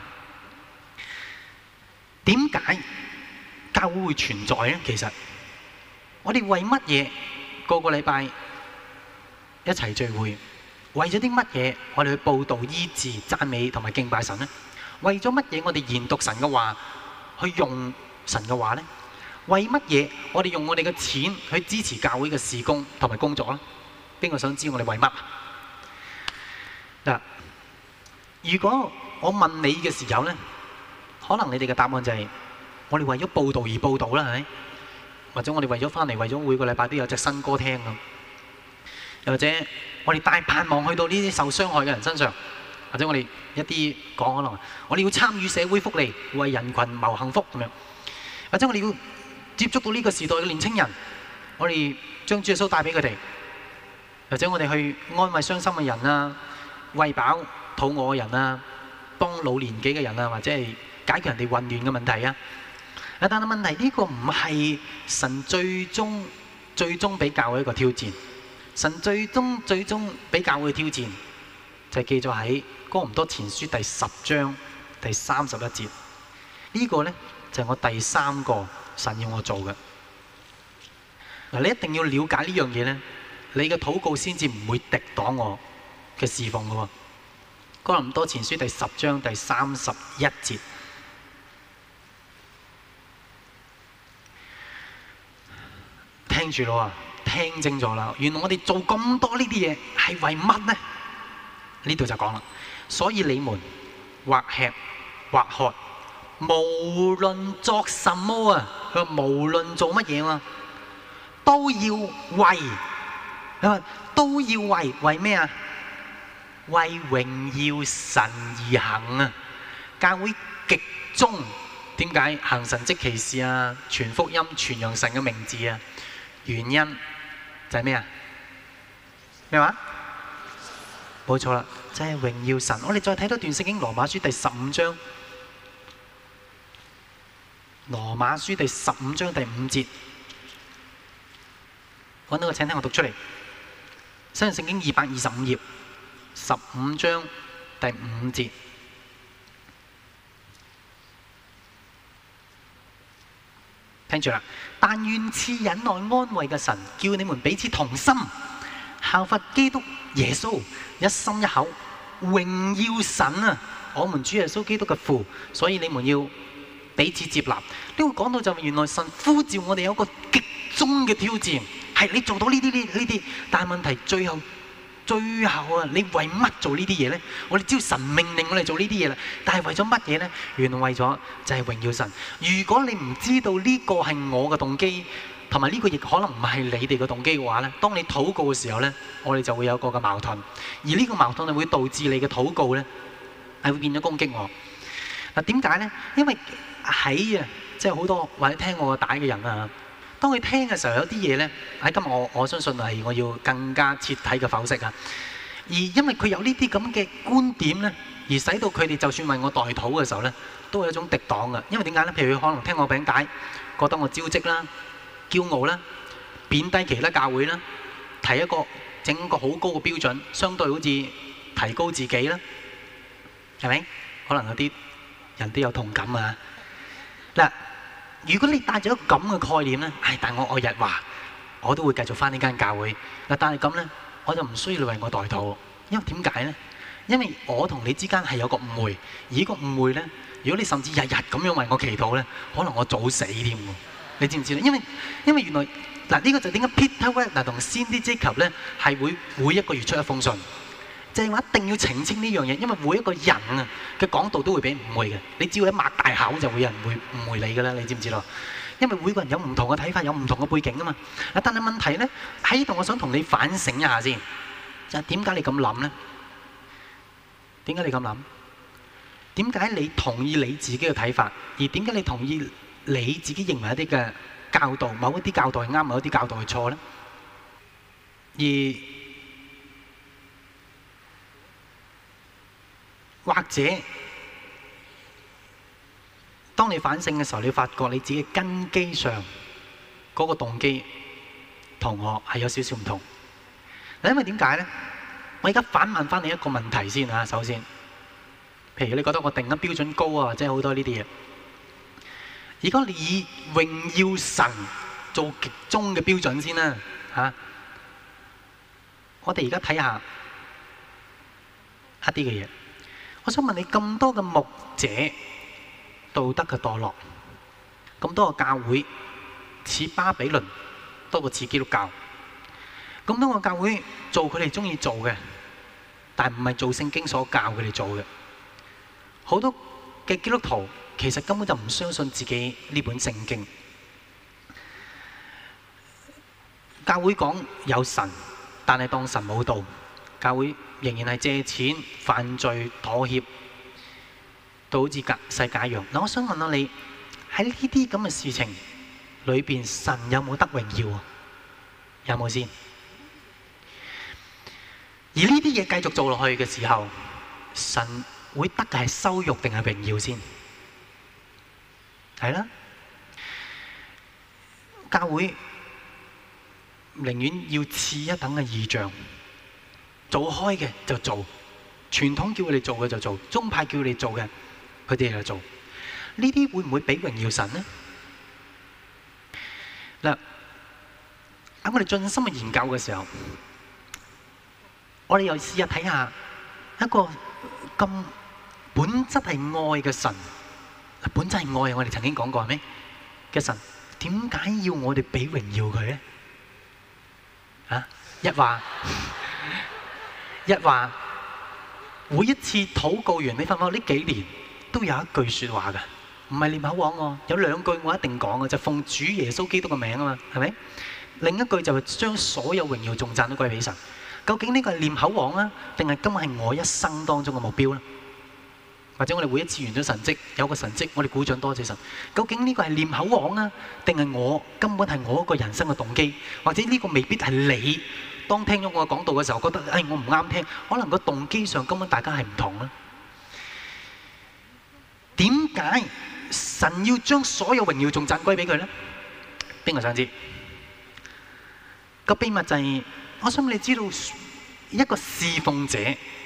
S1: 點解教會會存在呢？其實我哋為乜嘢個個禮拜一齊聚會？為咗啲乜嘢我哋去報道、醫治、讚美同埋敬拜神呢？為咗乜嘢我哋研讀神嘅話，去用神嘅話呢？為乜嘢我哋用我哋嘅錢去支持教會嘅事工同埋工作呢？邊個想知我哋為乜？嗱，如果我問你嘅時候呢，可能你哋嘅答案就係我哋為咗報道而報道啦，係咪？或者我哋為咗翻嚟，為咗每個禮拜都有隻新歌聽咁，又或者我哋帶盼望去到呢啲受傷害嘅人身上，或者我哋一啲講可能我哋要參與社會福利，為人群謀幸福咁樣，或者我哋要接觸到呢個時代嘅年青人，我哋將主耶穌帶俾佢哋，或者我哋去安慰傷心嘅人啊，餵飽肚餓嘅人啊，幫老年紀嘅人啊，或者係解決人哋混亂嘅問題啊。但係問題呢個唔係神最終最終俾教會一個挑戰。神最終最終俾教會嘅挑戰就係記咗喺哥林多前書第十章第三十一節。呢個呢，就係我第三個神要我做嘅。嗱，你一定要了解呢樣嘢呢，你嘅禱告先至唔會敵擋我嘅侍奉嘅喎。哥林多前書第十章第三十一節。聽住咯啊！聽清楚啦！原來我哋做咁多呢啲嘢係為乜呢？呢度就講啦。所以你們或吃或喝，無論作什麼啊，佢話無論做乜嘢啊，都要為，佢話都要為，為咩啊？為榮耀神而行啊！教會極終點解行神蹟奇事啊？傳福音、傳揚神嘅名字啊？原因就係咩啊？咩話？冇錯啦，就係榮耀神。我哋再睇多段聖經，羅馬書第十五章。羅馬書第十五章第五節，揾到個請聽我讀出嚟。新約聖經二百二十五頁，十五章第五節。聽住啦，但願賜忍耐安慰嘅神，叫你們彼此同心，效法基督耶穌，一心一口榮耀神啊！我們主耶穌基督嘅父，所以你們要彼此接納。呢個講到就原來神呼召我哋有一個極終嘅挑戰，係你做到呢啲呢呢啲，但係問題最後。最後啊，你為乜做呢啲嘢呢？我哋知道神命令我哋做呢啲嘢啦，但係為咗乜嘢呢？原來為咗就係榮耀神。如果你唔知道呢個係我嘅動機，同埋呢個亦可能唔係你哋嘅動機嘅話呢，當你禱告嘅時候呢，我哋就會有個嘅矛盾，而呢個矛盾係會導致你嘅禱告呢係會變咗攻擊我。嗱，點解呢？因為喺啊，即係好多或者聽我嘅帶嘅人啊。當佢聽嘅時候，有啲嘢呢，喺今日我我相信係我要更加徹底嘅剖析啊！而因為佢有呢啲咁嘅觀點呢，而使到佢哋就算為我代禱嘅時候呢，都係一種敵擋嘅。因為點解呢？譬如佢可能聽我餅帶，覺得我招積啦、驕傲啦、貶低其他教會啦，提一個整個好高嘅標準，相對好似提高自己啦，係咪？可能有啲人都有同感啊！嗱。如果你帶咗咁嘅概念呢，唉，但我愛日華，我都會繼續返呢間教會。嗱，但係咁呢，我就唔需要你為我代禱，因為點解呢？因為我同你之間係有個誤會，而呢個誤會呢，如果你甚至日日咁樣為我祈禱呢，可能我早死添喎。你知唔知咧？因為因為原來嗱，呢個就點解 Peter Wagner 同 Cindy Jacobs 呢係會每一個月出一封信。就係話一定要澄清呢樣嘢，因為每一個人啊嘅講道都會俾誤會嘅。你只要一擘大口，就會有人會誤會你㗎啦。你知唔知道？因為每個人有唔同嘅睇法，有唔同嘅背景啊嘛。但係問題咧喺呢度，我想同你反省一下先。就係點解你咁諗咧？點解你咁諗？ 點解你同意你自己嘅睇法，而點解你同意你自己認為一啲嘅教導，某一啲教導係啱，某一啲教導係錯呢？而或者當你反省嘅時候，你發覺你自己根基上嗰個動機同我係有少少唔同。嗱，因為點解呢？我而家反問翻你一個問題先啊。首先，譬如你覺得我定緊標準高啊，即係好多呢啲嘢。如果你以榮耀神做極終嘅標準先啦，嚇，我哋而家睇下一啲嘅嘢。我想問你，咁多嘅牧者道德嘅墮落，咁多個教會似巴比倫多過似基督教，咁多個教會做佢哋中意做嘅，但唔係做聖經所教佢哋做嘅。好多嘅基督徒其實根本就唔相信自己呢本聖經。教會講有神，但係當神冇道。教會仍然係借錢、犯罪、妥協，到好似世界一樣。嗱，我想問下你喺呢啲咁嘅事情裏邊，神有冇得榮耀啊？有冇先？而呢啲嘢繼續做落去嘅時候，神會得嘅係羞辱定係榮耀先？係啦，教會寧願要次一等嘅異象，做開嘅就做，傳統叫佢哋做嘅就做，宗派叫佢哋做嘅，佢哋就做。呢啲會唔會俾榮耀神呢？嗱，喺我哋盡心去研究嘅時候，我哋又試下睇下一個咁本質係愛嘅神，本質係愛，我哋曾經講過係咩嘅神？點解要我哋俾榮耀佢咧？啊，一話一話，每一次禱告完，你發唔發覺呢幾年都有一句説話㗎，唔係念口簧喎，有兩句我一定講嘅，就奉主耶穌基督嘅名啊嘛，係咪？另一句就係將所有榮耀頌讚都歸俾神。究竟呢個係念口簧啊，定係今日係我一生當中嘅目標咧？或者我哋每一次完咗神蹟，有個神蹟，我哋鼓掌多謝神。究竟呢個係念口簧啊，定係我根本係我一個人生嘅動機？或者呢個未必係你當聽咗我講道嘅時候覺得，誒我唔啱聽，可能個動機上根本大家係唔同啦。點解神要將所有榮耀頌讚歸俾佢咧？邊個想知？個秘密就係，我想你知道一個侍奉者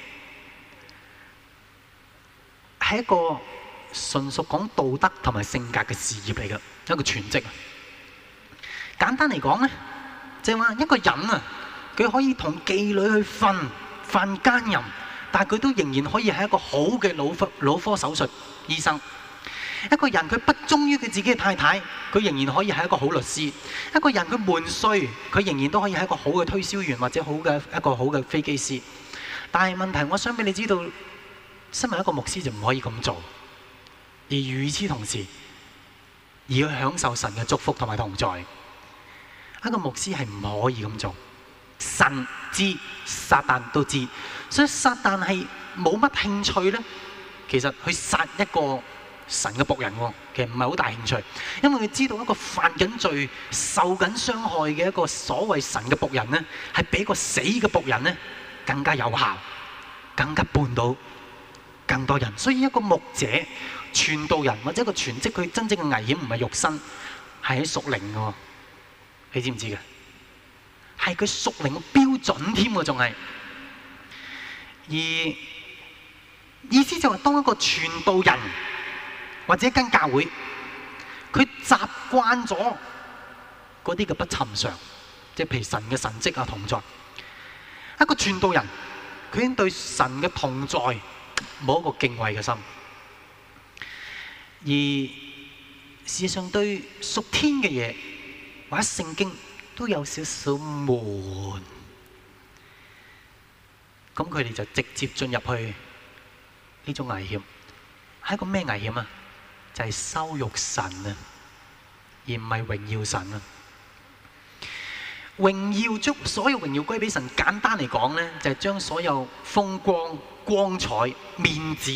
S1: 係一個純屬講道德同埋性格嘅事業嚟嘅，一個全職。簡單嚟講咧，就係話一個人啊，佢可以同妓女去瞓犯奸淫，但係佢都仍然可以係一個好嘅腦科腦科手術醫生。一個人佢不忠於佢自己嘅太太，佢仍然可以係一個好律師。一個人佢悶衰，佢仍然都可以係一個好嘅推銷員或者好嘅一個好嘅飛機師。但係問題，我想俾你知道，身為一個牧師就唔可以咁做，而與此同時，而要享受神嘅祝福同埋同在。一個牧師係唔可以咁做，神知，撒旦都知，所以撒旦係冇乜興趣咧。其實去殺一個神嘅僕人喎，其實唔係好大興趣，因為佢知道一個犯緊罪、受緊傷害嘅一個所謂神嘅僕人咧，係比一個死嘅僕人咧更加有效，更加絆到更多人。所以一個牧者、傳道人或者一個全職，佢真正嘅危險唔係肉身，係喺屬靈嘅。你知唔知嘅？係佢屬靈嘅標準添喎，仲係。而意思就係當一個傳道人或者一間教會，佢習慣咗嗰啲嘅不尋常，即係譬如神嘅神蹟啊同在。一個傳道人，佢已經對神嘅同在冇一個敬畏嘅心，而事實上對屬天嘅嘢或者聖經都有少少悶，咁佢哋就直接進入去呢種危險。係一個咩危險啊？就係羞辱神啊，而唔係榮耀神啊。榮耀將所有榮耀歸俾神，簡單嚟講咧，就係將所有風光、光彩、面子、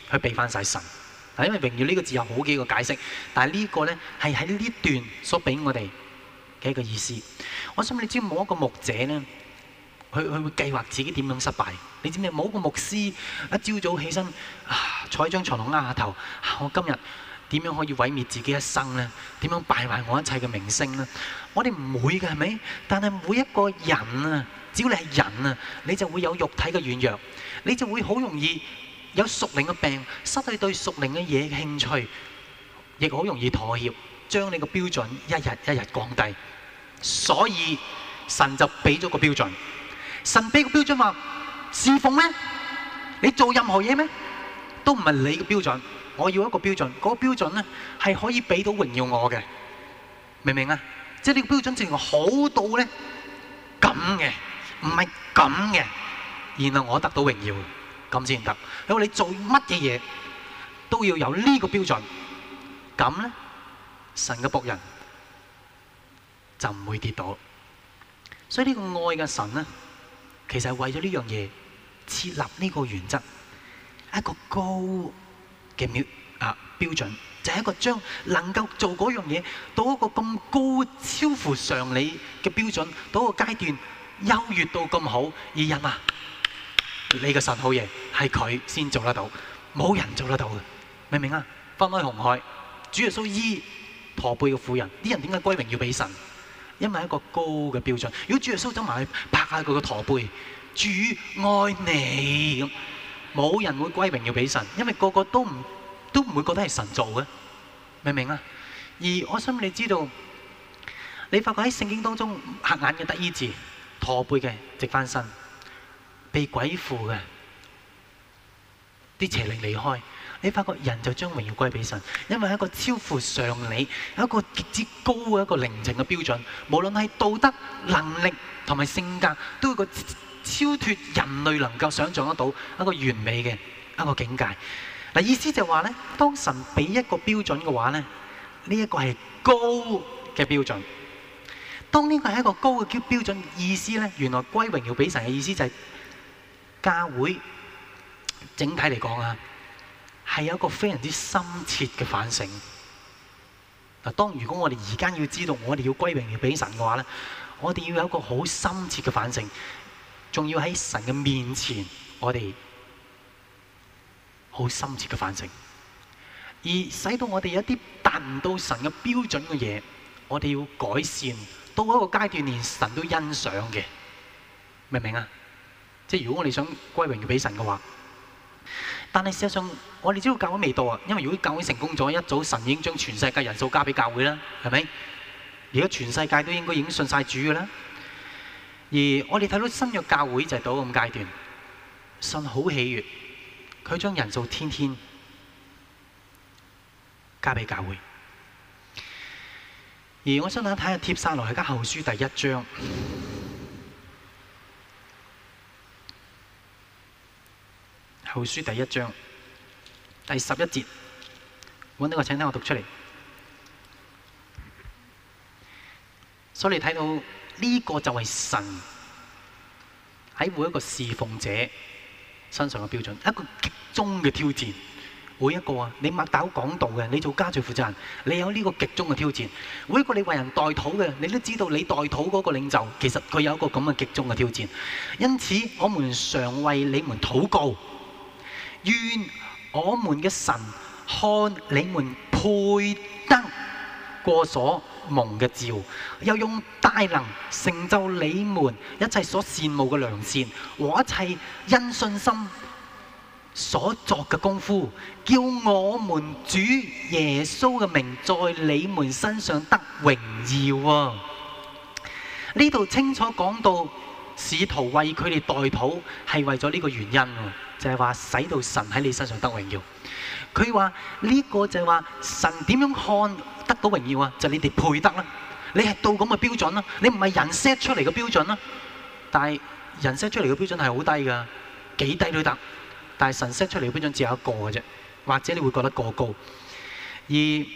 S1: 去俾翻晒神。嗱，因為榮耀呢個字有好幾個解釋，但係呢個咧係喺呢段所俾我哋嘅一個意思。我想你知冇一個牧者咧，佢佢會計劃自己點樣失敗。你知唔知冇一個牧師一朝早起身啊，坐喺張床度啱下頭，啊，我今日點樣可以毀滅自己一生咧？點樣敗壞我一切嘅名聲咧？我哋唔會嘅，係咪？但係每一個人啊，只要你係人啊，你就會有肉體嘅軟弱，你就會好容易有屬靈嘅病，失去對屬靈嘅嘢嘅興趣，亦好容易妥協，將你個標準一日一日降低。所以神就俾咗個標準，神俾個標準話侍奉咩？你做任何嘢咩？都唔係你嘅標準。我要一個標準，嗰個標準咧係可以俾到榮耀我嘅，明唔明啊？即係呢個標準淨係好到咧咁嘅，唔係咁嘅，然後我得到榮耀，咁先得。因為你做乜嘢嘢都要有呢個標準，咁咧神嘅僕人就唔會跌倒。所以呢個愛嘅神咧，其實係為咗呢樣嘢設立呢個原則，一個高嘅標啊標準，就係一個將能夠做嗰樣嘢到一個咁高超乎常理嘅標準，到一個階段優越到咁好，而人啊，你嘅神好嘢，係佢先做得到，冇人做得到嘅，明唔明啊？分開紅海，主耶穌醫駝背嘅婦人，啲人點解歸榮要俾神？因為一個高嘅標準。如果主耶穌走埋去拍下佢個駝背，主愛你咁。冇人會歸榮耀俾神，因為個個都唔都唔會覺得係神做嘅，明唔明啊？而我想你知道，你發覺喺聖經當中，瞎眼嘅得醫治，駝背嘅直翻身，被鬼附嘅啲邪靈離開，你發覺人就將榮耀歸俾神，因為係一個超乎常理，有一個極之高嘅一個靈情嘅標準，無論係道德、能力同埋性格，都有個超脫人類能夠想象得到一個完美嘅一個境界。嗱，意思就係話咧，當神俾一個標準嘅話咧，呢一個係高嘅標準。當呢個係一個高嘅標標準，意思咧，原來歸榮耀俾神嘅意思就係教會整體嚟講啊，係有一個非常之深切嘅反省。嗱，當如果我哋而家要知道我哋要歸榮耀俾神嘅話咧，我哋要有一個好深切嘅反省。仲要喺神嘅面前，我哋好深切嘅反省，而使到我哋有一啲達唔到神嘅標準嘅嘢，我哋要改善，到一個階段連神都欣賞嘅，明唔明啊？即係如果我哋想歸榮耀俾神嘅話，但係事實上我哋知道教會未到啊，因為如果教會成功咗，一早神已經將全世界人數交俾教會啦，係咪？而家全世界都應該已經信晒主嘅啦。而我哋睇到新約教會就係到咁階段，神好喜悅，佢將人數天天加俾教會。而我想大家睇下帖撒羅尼迦後書第一章，後書第一章第十一節，揾到個請聽我讀出嚟。所以你睇到。呢個就係神喺每一個侍奉者身上嘅標準，一個極中嘅挑戰。每一個啊，你擘大口講道嘅，你做家聚負責人，你有呢個極中嘅挑戰。每一個你為人代禱嘅，你都知道你代禱嗰個領袖，其實佢有一個咁嘅極中嘅挑戰。因此，我們常為你們禱告，願我們嘅神看你們配得過所蒙嘅召，又用大能成就你們一切所羨慕嘅良善和一切因信心所作嘅功夫，叫我們主耶穌嘅名在你們身上得榮耀啊！呢度清楚講到使徒為佢哋代禱係為咗呢個原因，就係話使到神喺你身上得榮耀。佢話呢個就係話神點樣看得到榮耀啊？就係你哋配得啦，你係到咁嘅標準啦，你唔係人 set 出嚟嘅標準啦。但係人 set 出嚟嘅標準係好低噶，幾低都得。但係神 set 出嚟嘅標準只有一個嘅啫，或者你會覺得過高。而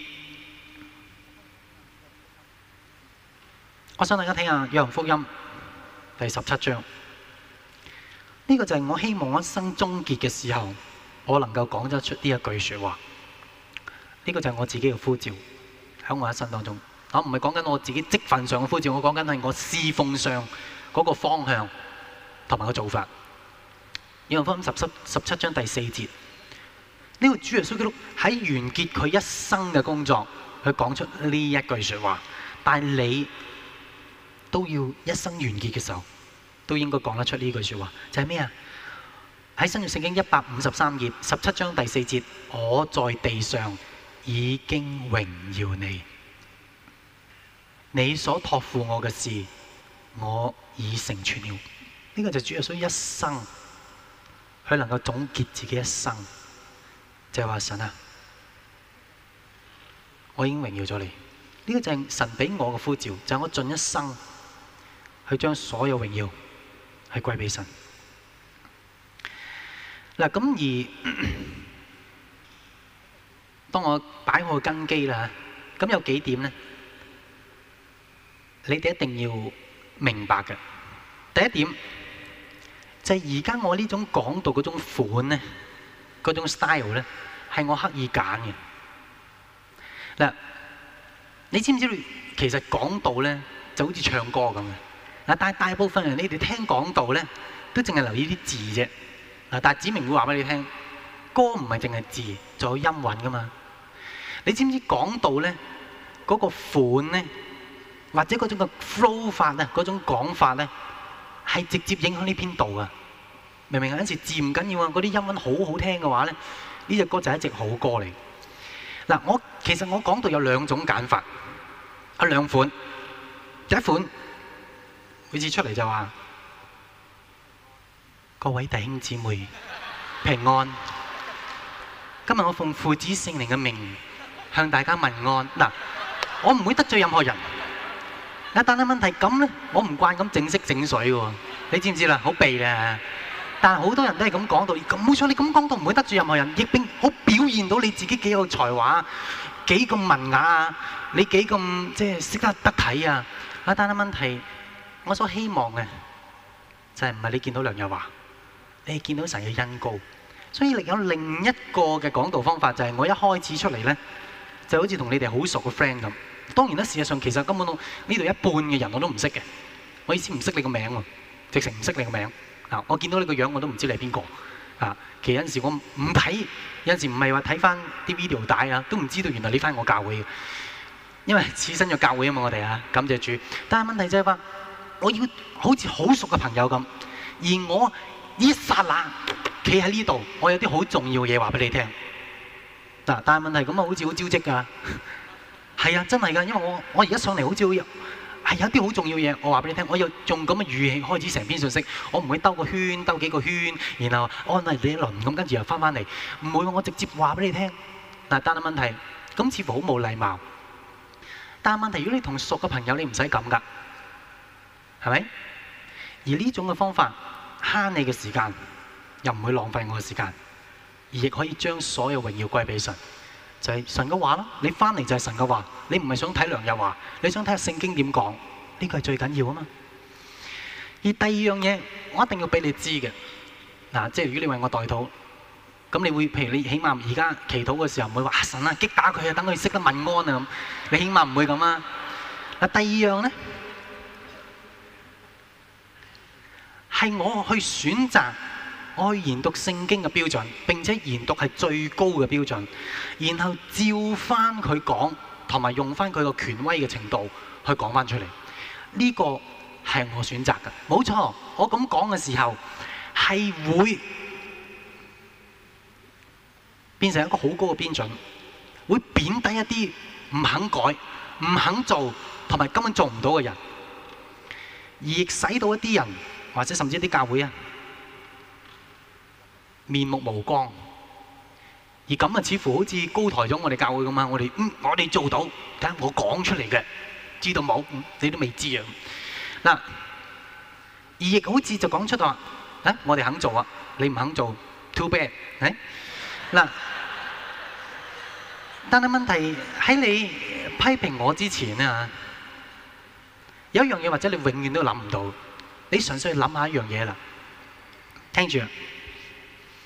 S1: 我想大家睇下約翰福音第十七章，呢個就係我希望我一生終結嘅時候我能夠講得出呢一句説話。呢個就係我自己嘅呼召喺我一生當中。我唔係講緊我自己職份上嘅呼召，我講緊係我侍奉上嗰個方向同埋個做法。約翰福音十七十七章第四節，呢個主耶穌基督喺完結佢一生嘅工作，佢講出呢一句説話。但係你都要一生完結嘅時候，都應該講得出呢句説話，就係咩啊？喺新約聖經一百五十三頁十七章第四節，我在地上已經榮耀你，你所託付我嘅事，我已成全了。呢、這個就係主耶穌一生，佢能夠總結自己一生，就係、是、話神啊，我已經榮耀咗你。呢、這個就係神俾我嘅呼召，就係、是、我盡一生去將所有榮耀係歸俾神。嗱，咁而咳咳當我擺好個根基啦，咁有幾點咧？你哋一定要明白嘅。第一點就係而家我呢種講道嗰種款咧，嗰種 style 咧，係我刻意揀嘅。嗱，你知唔知道其實講道咧就好似唱歌咁嘅？嗱，但係大部分人你哋聽講道咧，都淨係留意啲字啫。嗱，但係子明會話俾你聽，歌唔係淨係字，仲有音韻噶嘛。你知唔知講道咧嗰個款咧，或者嗰種嘅 flow 法啊，嗰種講法咧，係直接影響呢篇道啊？明唔明啊？有陣時字唔緊要啊，嗰啲音韻好好聽嘅話咧，呢隻歌就係一隻好歌嚟。嗱，我其實我講道有兩種揀法，有兩款。第一款每次出嚟就話：各位弟兄姊妹平安，今日我奉父子聖靈嘅名向大家問安。嗱，我唔會得罪任何人。但係問題咁咧，我唔慣咁整色整水嘅喎，你知唔知啦？好避咧。但係好多人都係咁講到，咁冇錯，你咁講到唔會得罪任何人，亦並好表現到你自己幾有才華，幾咁文雅啊，你幾咁即係識得得體啊。啊，但係問題，我所希望嘅就係唔係你見到梁日華，你係見到神嘅恩膏。所以另有另一個嘅講道方法，就係我一開始出嚟咧，就好似同你哋好熟嘅 friend 咁。當然啦，事實上其實根本都呢度一半嘅人我都唔識嘅。我意思唔識你個名喎，直情唔識你個名。啊，我見到你個樣我都唔知你係邊個。啊，其實有陣時我唔睇，有陣時唔係話睇翻啲 video 帶啊，都唔知道原來你翻我教會嘅。因為此身咗教會啊嘛，我哋啊，感謝主。但係問題就係話，我要好似好熟嘅朋友咁，而我呢一剎那企喺呢度，我有啲好重要嘅嘢話俾你聽。嗱，但係問題咁啊，好似好招積㗎。係啊，真係㗎，因為我我而家上嚟好似好有係有啲好重要嘢，我話俾你聽，我有用咁嘅語氣開始成篇信息，我唔會兜個圈，兜幾個圈，然後安慰你一輪咁，跟住又翻返嚟，唔會，我直接話俾你聽。嗱，但係問題咁似乎好冇禮貌。但係問題，如果你同熟嘅朋友，你唔使咁㗎，係咪？而呢種嘅方法慳你嘅時間，又唔會浪費我嘅時間，而亦可以將所有榮耀歸俾神。就係神嘅話啦，你翻嚟就係神嘅話，你唔係想睇梁日華，你想睇下聖經點講，呢個係最緊要啊嘛。而第二樣嘢，我一定要俾你知嘅，嗱，即係如果你為我代禱，咁你會譬如你起碼而家祈禱嘅時候唔會話啊神啊擊打佢啊，等佢識得問安啊咁，你起碼唔會咁啊。嗱，第二樣咧，係我去選擇。我去研讀聖經嘅標準，並且研讀係最高嘅標準，然後照翻佢講，同埋用翻佢個權威嘅程度去講翻出嚟。呢個係我選擇嘅，冇錯。我咁講嘅時候係會變成一個好高嘅標準，會貶低一啲唔肯改、唔肯做同埋根本做唔到嘅人，而亦使到一啲人或者甚至一啲教會啊，面目無光，而咁啊，似乎好似高抬咗我哋教會咁啊！我哋嗯，我哋做到，睇下我講出嚟嘅，知道冇？你都未知啊！嗱，而亦好似就講出話，啊，我哋肯做啊，你唔肯做 ，too bad，係嗱。但係問題喺你批評我之前啊，有一樣嘢或者你永遠都諗唔到，你純粹諗下一樣嘢啦，聽住啊！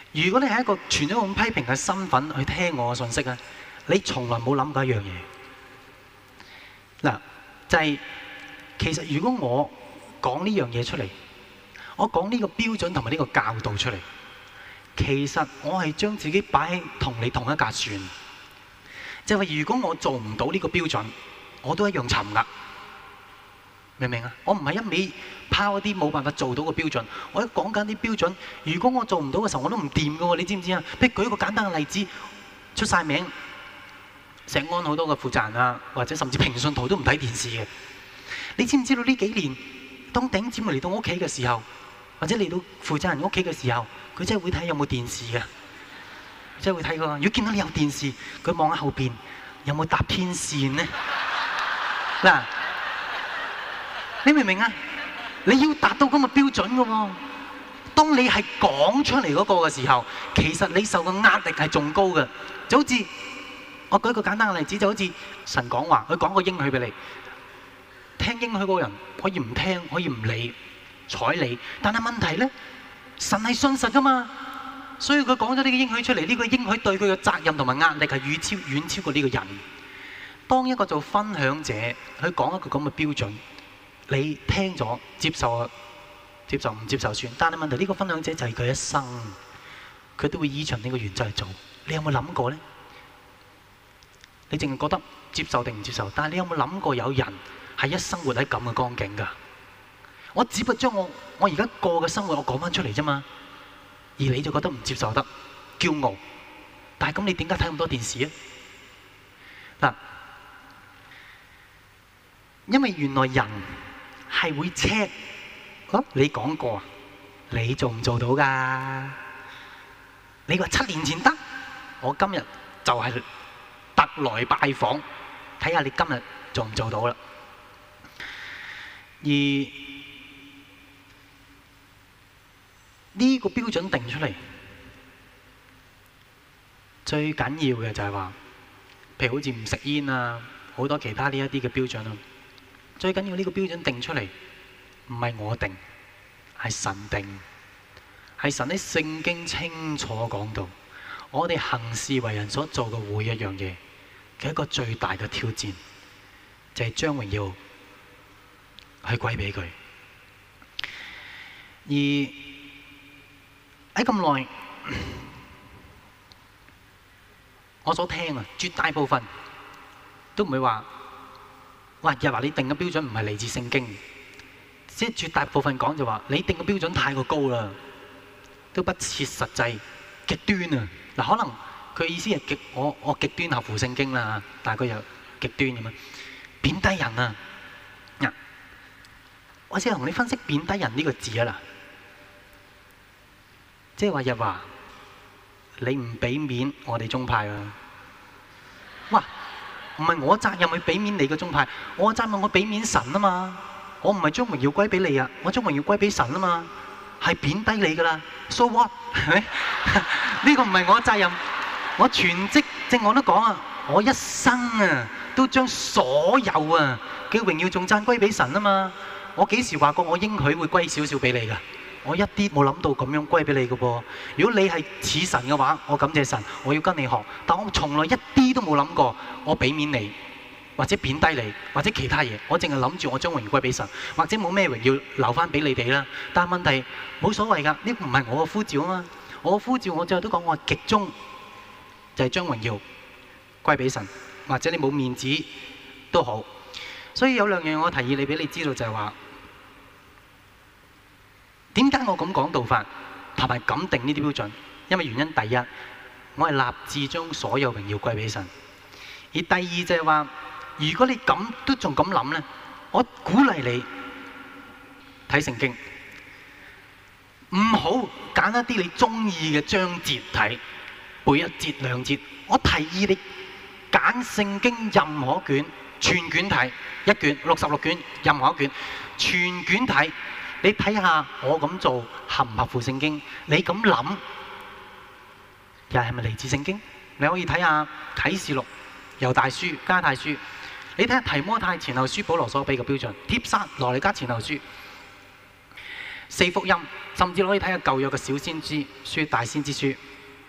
S1: 如果你係一個存咗咁批評嘅身份去聽我嘅信息咧，你從來冇諗過一樣嘢。嗱，就係、是、其實如果我講呢樣嘢出嚟，我講呢個標準同埋呢個教導出嚟，其實我係將自己擺喺同你同一架船。即係話，如果我做唔到呢個標準，我都一樣沉㗎。明唔明啊？我唔係一味拋一啲冇辦法做到嘅標準，我一講緊啲標準。如果我做唔到嘅時候，我都唔掂㗎喎，你知唔知啊？譬如舉一個簡單嘅例子，出晒名，石安好多嘅負責人啊，或者甚至平信徒都唔睇電視嘅。你知唔知道呢幾年，當頂姊妹嚟到我屋企嘅時候，或者嚟到負責人屋企嘅時候，佢真係會睇有冇電視嘅，真係會睇㗎。如果見到你有電視，佢望下後邊有冇搭天線呢？嗱。你明唔明啊？你要達到咁嘅標準嘅喎。當你係講出嚟嗰個嘅時候，其實你受嘅壓力係仲高嘅。就好似我舉一個簡單嘅例子，就好似神講話，佢講個應許俾你，聽應許嗰個人可以唔聽，可以唔理睬你，但係問題咧，神係信實噶嘛，所以佢講咗呢個應許出嚟，呢個應許對佢嘅責任同埋壓力係遠超遠超過呢個人。當一個做分享者，佢講一個咁嘅標準。你聽咗接受啊，接受唔接受算。但係問題呢個分享者就係佢一生，佢都會依循呢個原則去做。你有冇諗過咧？你淨係覺得接受定唔接受？但係你有冇諗過有人係一生活喺咁嘅光景㗎？我只不過將我我而家過嘅生活我講翻出嚟啫嘛，而你就覺得唔接受得，驕傲。但係咁你點解睇咁多電視啊？嗱，因為原來人係會 check，哦，你講過，你做唔做到㗎？你話七年前得，我今日就係特來拜訪，睇下你今日做唔做到啦。而呢個標準定出嚟，最緊要嘅就係話，譬如好似唔食煙啊，好多其他呢一啲嘅標準啊。最緊要呢個標準定出嚟，唔係我定，係神定，係神喺聖經清楚講到，我哋行事為人所做嘅每一樣嘢，嘅一個最大嘅挑戰，就係將榮耀去歸俾佢。而喺咁耐，我所聽啊，絕大部分都唔會話。哇！又話你定嘅標準唔係嚟自聖經，即係絕大部分講就話你定嘅標準太過高啦，都不切實際，極端啊！嗱，可能佢意思係極我我極端合乎聖經啦，但係佢又極端咁樣貶低人啊！嗱，我先同你分析貶低人呢個字啊啦，即係話日華你唔俾面我哋宗派啊！哇！唔係我責任去俾面你個宗派，我責任我俾面神啊嘛！我唔係將榮耀歸俾你啊，我將榮耀歸俾神啊嘛，係貶低你噶啦 ，so what 係咪？呢個唔係我責任，我全職正我都講啊，我一生啊都將所有啊嘅榮耀頌讚歸俾神啊嘛！我幾時話過我應許會歸少少俾你噶？我一啲冇諗到咁樣歸俾你嘅噃。如果你係似神嘅話，我感謝神，我要跟你學。但我從來一啲都冇諗過，我俾面你，或者貶低你，或者其他嘢。我淨係諗住我將榮耀歸俾神，或者冇咩榮耀留翻俾你哋啦。但係問題冇所謂㗎，呢個唔係我嘅呼召啊嘛。我嘅呼召我最後都講，我極終就係將榮耀歸俾神，或者你冇面子都好。所以有兩樣我提議你俾你知道就係話。點解我咁講道法同埋咁定呢啲標準？因為原因第一，我係立志將所有榮耀歸俾神；而第二就係話，如果你咁都仲咁諗咧，我鼓勵你睇聖經，唔好揀一啲你中意嘅章節睇，背一節兩節。我提議你揀聖經任何卷，全卷睇，一卷六十六卷，任何一卷，全卷睇。你睇下我咁做合唔合乎聖經？你咁諗又係咪嚟自聖經？你可以睇下啟示錄、猶大書、加太書。你睇下提摩太前後書、保羅所俾嘅標準、帖撒羅尼迦前後書。 四福音，甚至可以睇下舊約嘅小先知書、大先知書，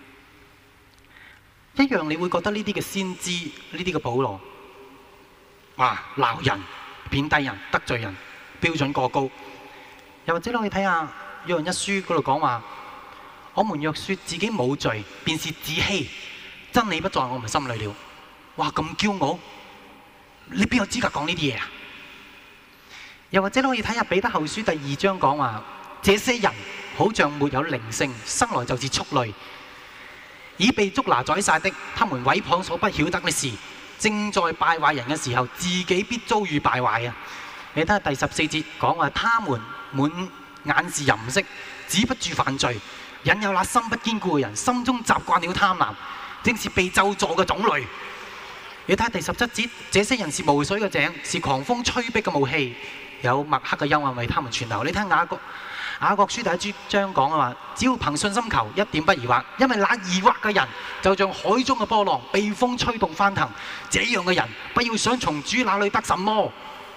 S1: 一樣你會覺得呢啲嘅先知、呢啲嘅保羅，哇鬧人、貶低人、得罪人，標準過高。又或者你可以睇下約翰一書嗰度講話，我們若說自己冇罪，便是自欺，真理不在我們心裏了。哇咁驕傲，你邊有資格講呢啲嘢啊？又或者你可以睇下彼得後書第二章講話，這些人好像沒有靈性，生來就是畜類，已被捉拿宰殺的，他們毀謗所不曉得的事，正在敗壞人嘅時候，自己必遭遇敗壞啊！你睇下第十四節講話，他們滿眼是淫色，止不住犯罪，引誘那心不堅固嘅人，心中習慣了貪婪，正是被咒詛嘅種類。你睇下第十七節，這些人是無水嘅井，是狂風吹逼嘅霧氣，有墨黑嘅幽暗為他們存留。你睇雅各雅各書第一章講嘅話，只要憑信心求，一點不疑惑，因為那疑惑嘅人就像海中嘅波浪，被風吹動翻騰。這樣嘅人不要想從主那裏得什麼。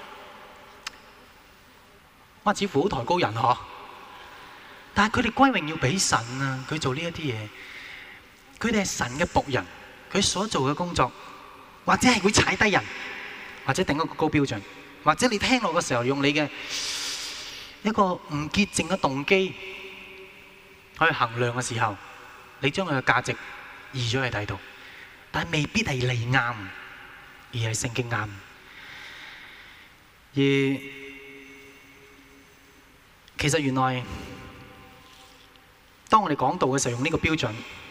S1: 哇，似乎好抬高人嗬，但係佢哋歸榮要俾神啊！佢做呢一啲嘢，佢哋係神嘅僕人，佢所做嘅工作，或者係會踩低人，或者定一個高標準，或者你聽落嘅時候用你嘅一個唔潔淨嘅動機去衡量嘅時候，你將佢嘅價值移咗去第度，但係未必係你啱，而係聖經啱。而其實原來當我哋講道嘅時候用呢個標準，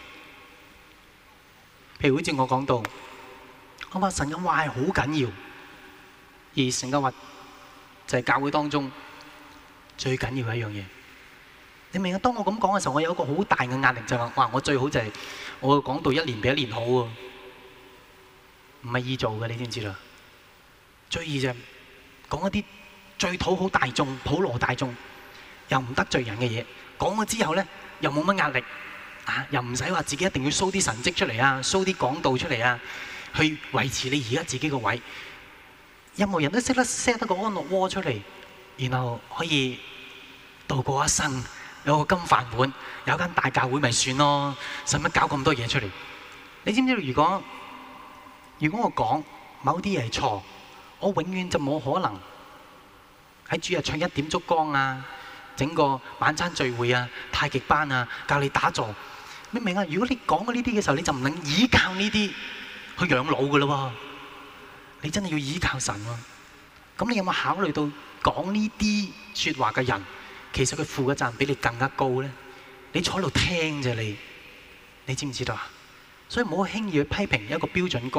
S1: 譬如好似我講道，我話神嘅話係好緊要，而神嘅話就係教會當中最緊要嘅一樣嘢。你明啊？當我咁講嘅時候，我有一個好大嘅壓力，就係話：哇！我最好就係我講道一年比一年好喎，唔係易做嘅，你知唔知啦？最易就係講一啲最討好大眾、普羅大眾又唔得罪人嘅嘢，講咗之後咧又冇乜壓力啊，又唔使話自己一定要 show 啲神蹟出嚟啊 ，show 啲講道出嚟啊，去維持你而家自己個位。任何人都識得 set 得個安樂窩出嚟，然後可以度過一生，有個金飯碗，有間大教會咪算咯，使乜搞咁多嘢出嚟？你知唔知道？如果如果我講某啲嘢係錯，我永遠就冇可能喺主日唱一點燭光啊，整個晚餐聚會啊、太極班啊，教你打坐。你明啊？如果你講過呢啲嘅時候，你就唔能依靠呢啲去養老噶咯喎。你真係要依靠神喎。咁你有冇考慮到講呢啲説話嘅人，其實佢負嘅責任比你更加高咧？你坐喺度聽啫，你你知唔知道啊？所以唔好輕易去批評一個標準高。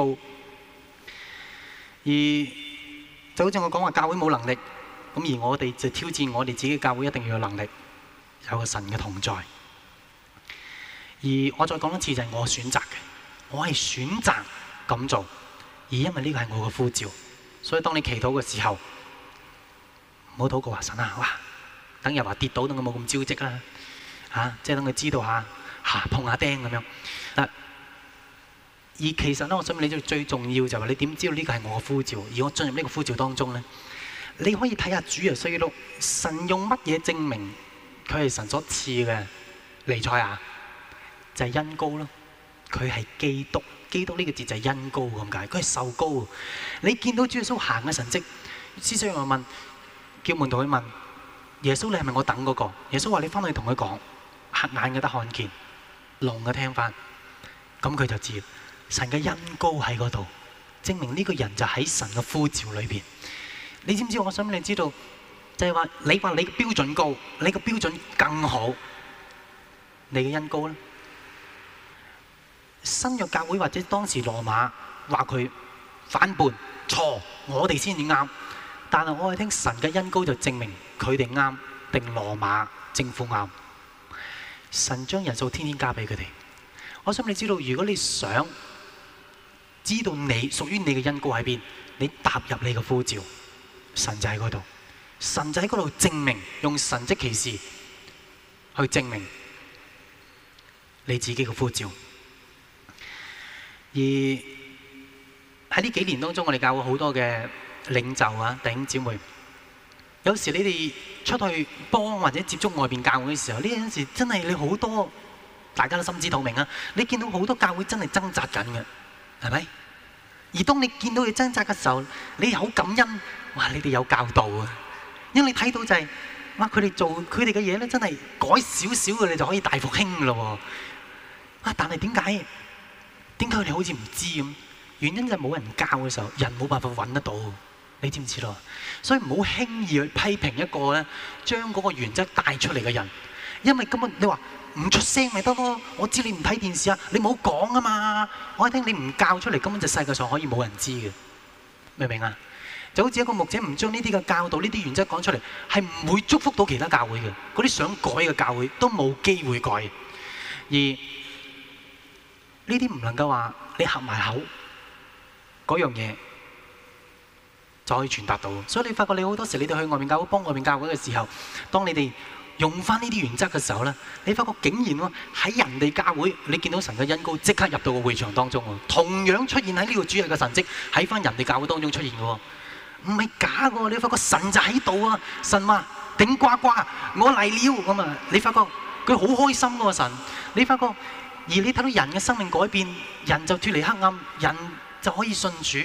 S1: 而就好似我講話教會冇能力，咁而我哋就挑戰我哋自己教會一定要有能力，有個神嘅同在。而我再講一次，就係我選擇嘅，我係選擇咁做。而因為呢個係我嘅呼召，所以當你祈禱嘅時候，唔好禱告話神啊，哇！等日華跌倒，等佢冇咁招積啦，嚇、啊！即係等佢知道下，嚇、啊、碰下釘咁樣。嗱、啊，而其實咧，我想問你最重要就係話，你點知道呢個係我嘅呼召？而我進入呢個呼召當中咧，你可以睇下主耶穌基督，神用乜嘢證明佢係神所賜嘅彌賽亞？就係、是、恩膏咯，佢係基督。基督呢個字就係恩膏咁解，佢係受膏。你見到主耶穌行嘅神蹟，施洗約翰問，叫門徒去問耶穌：你係咪我等嗰個？耶穌話：你翻去同佢講，瞎眼嘅得看見，聾嘅聽翻。咁佢就知神嘅恩膏喺嗰度，證明呢個人就喺神嘅呼召裏邊。你知唔知？我想你知道，就係話你話你嘅標準高，你嘅標準更好，你嘅恩膏咧？新約教會或者當時羅馬話佢反叛錯，我哋先至啱。但係我係聽神嘅恩膏就證明佢哋啱，定羅馬政府啱。神將人數天天加俾佢哋。我想你知道，如果你想知道你屬於你嘅恩膏喺邊，你踏入你嘅呼召，神就喺嗰度。神就喺嗰度證明，用神蹟奇事去證明你自己嘅呼召。而喺呢幾年當中，我哋教會好多嘅領袖啊、弟兄姊妹， 有時你哋出去幫或者接觸外邊教會嘅時候，呢陣時真係你好多大家都心知肚明啊！你見到好多教會真係掙扎緊嘅，係咪？而當你見到佢掙扎嘅時候，你好感恩，哇！你哋有教導啊，因為你睇到就係、是、哇，佢哋做佢哋嘅嘢咧，真係改少少嘅，你就可以大復興嘅咯喎！啊，但係點解點解佢哋好似唔知咁？原因就係冇人教嘅時候，人冇辦法揾得到。你知唔知道？所以唔好輕易去批評一個咧，將嗰個原則帶出嚟嘅人，因為根本你話唔出聲咪得咯。我知你唔睇電視啊，你冇講啊嘛。我一聽你唔教出嚟，根本就世界上可以冇人知嘅，明唔明啊？就好似一個牧者唔將呢啲嘅教導、呢啲原則講出嚟，係唔會祝福到其他教會嘅。嗰啲想改嘅教會都冇機會改。而呢啲唔能夠話你合埋口嗰樣嘢就可以傳達到，所以你發覺你好多時你哋去外面教會幫外面教會嘅時候，當你哋用翻呢啲原則嘅時候咧，你發覺竟然喎喺人哋教會，你見到神嘅恩膏即刻入到個會場當中喎，同樣出現喺呢個主日嘅神蹟喺翻人哋教會當中出現嘅喎，唔係假嘅喎，你發覺神就喺度啊！神話頂呱呱，我嚟了咁啊！你發覺佢好開心嘅喎神，你發覺而你睇到人嘅生命改變，人就脫離黑暗，人就可以信主。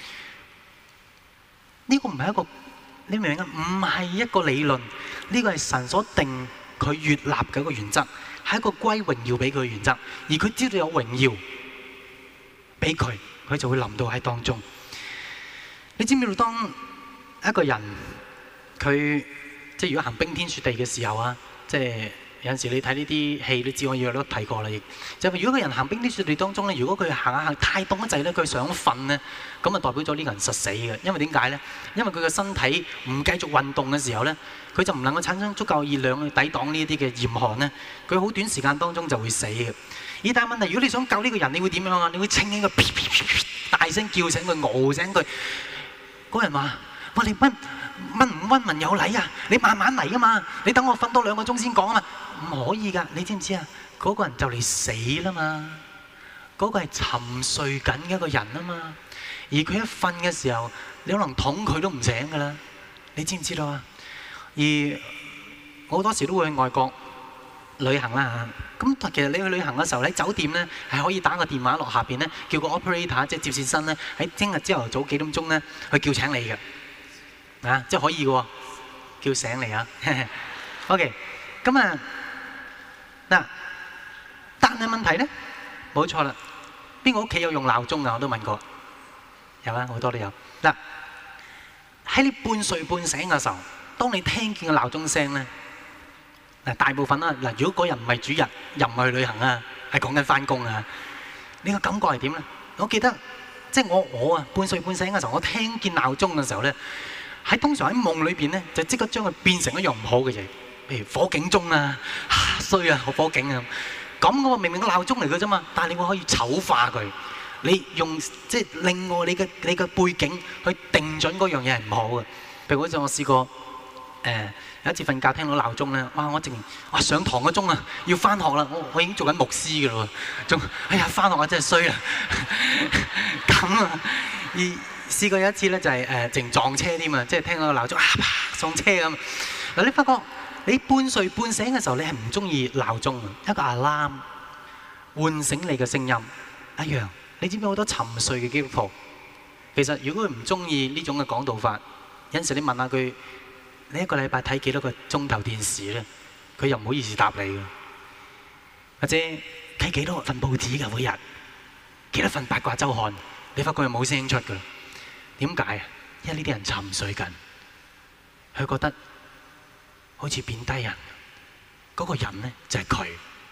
S1: 呢個唔係一個，你明唔明啊？唔係一個理論，呢個係神所定佢悅納嘅一個原則，係一個歸榮耀俾佢嘅原則。而佢知道有榮耀俾佢，佢就會臨到喺當中。你知唔知道當一個人佢即係如果行冰天雪地嘅時候啊，即係有陣時你睇呢啲戲，你知我以前都提過啦，亦就係如果個人行冰天雪地當中咧，如果佢行下行太凍一滯咧，佢想瞓咧，咁啊代表咗呢個人實死嘅。因為點解咧？因為佢嘅身體唔繼續運動嘅時候咧，佢就唔能夠產生足夠熱量去抵擋呢一啲嘅嚴寒咧，佢好短時間當中就會死嘅。而但係問題，如果你想救呢個人，你會點樣啊？你會清起佢，啪啪啪啪大聲叫醒佢，熬醒佢。嗰人話：哇！你溫溫唔溫文有禮啊？你慢慢嚟啊嘛！你等我瞓多兩個鐘先講啊嘛！唔可以㗎，你知唔知啊？嗰個人就嚟死啦嘛！嗰個係沉睡緊嘅一個人啊嘛！而佢一瞓嘅時候，你可能捅佢都唔醒㗎啦！你知唔知道啊？而我好多時都會去外國旅行啦嚇。咁其實你去旅行嘅時候喺酒店咧，係可以打個電話落下邊咧，叫個 operator 即係接線生咧，喺聽日朝頭早幾點鐘咧去叫請你嘅。啊，即係可以嘅喎，叫醒你啊！OK，咁啊嗱，但係問題咧，冇錯啦，邊個屋企有用鬧鐘啊？我都問過，有啊，好多都有。嗱，喺你半睡半醒嘅時候，當你聽見個鬧鐘聲咧，嗱大部分啦，嗱如果嗰人唔係主日，又唔係去旅行啊，係講緊翻工啊，你個感覺係點咧？我記得即係我我啊半睡半醒嘅時候，我聽見鬧鐘嘅時候咧。喺通常喺夢裏邊咧，就即刻將佢變成一樣唔好嘅嘢，譬如火警鐘啊、衰啊、火警啊咁嘅喎。明明個鬧鐘嚟嘅啫嘛，但係你會可以醜化佢，你用即係另外你嘅你嘅背景去定準嗰樣嘢係唔好嘅。譬如好似我試過誒、呃、有一次瞓覺聽到鬧鐘咧，哇！我淨哇上堂個鐘啊，要翻學啦，我我已經做緊牧師嘅咯喎，仲哎呀翻學啊真係衰啊咁啊而。試過有一次咧，就係誒淨撞車添啊！即係聽到個鬧鐘啊，啪撞車咁。嗱，你發覺你半睡半醒嘅時候，你係唔中意鬧鐘啊？一個 alarm 喚醒你嘅聲音一樣。你知唔知好多沉睡嘅基督徒？其實如果佢唔中意呢種嘅講道法，有陣時你問下佢，你一個禮拜睇幾多個鐘頭電視咧？佢又唔好意思答你嘅。或者睇幾多份報紙㗎每日？幾多份八卦週刊？你發覺佢冇聲出㗎。點解啊？因為呢啲人沉睡緊，佢覺得好似貶低人。嗰個人咧就係佢。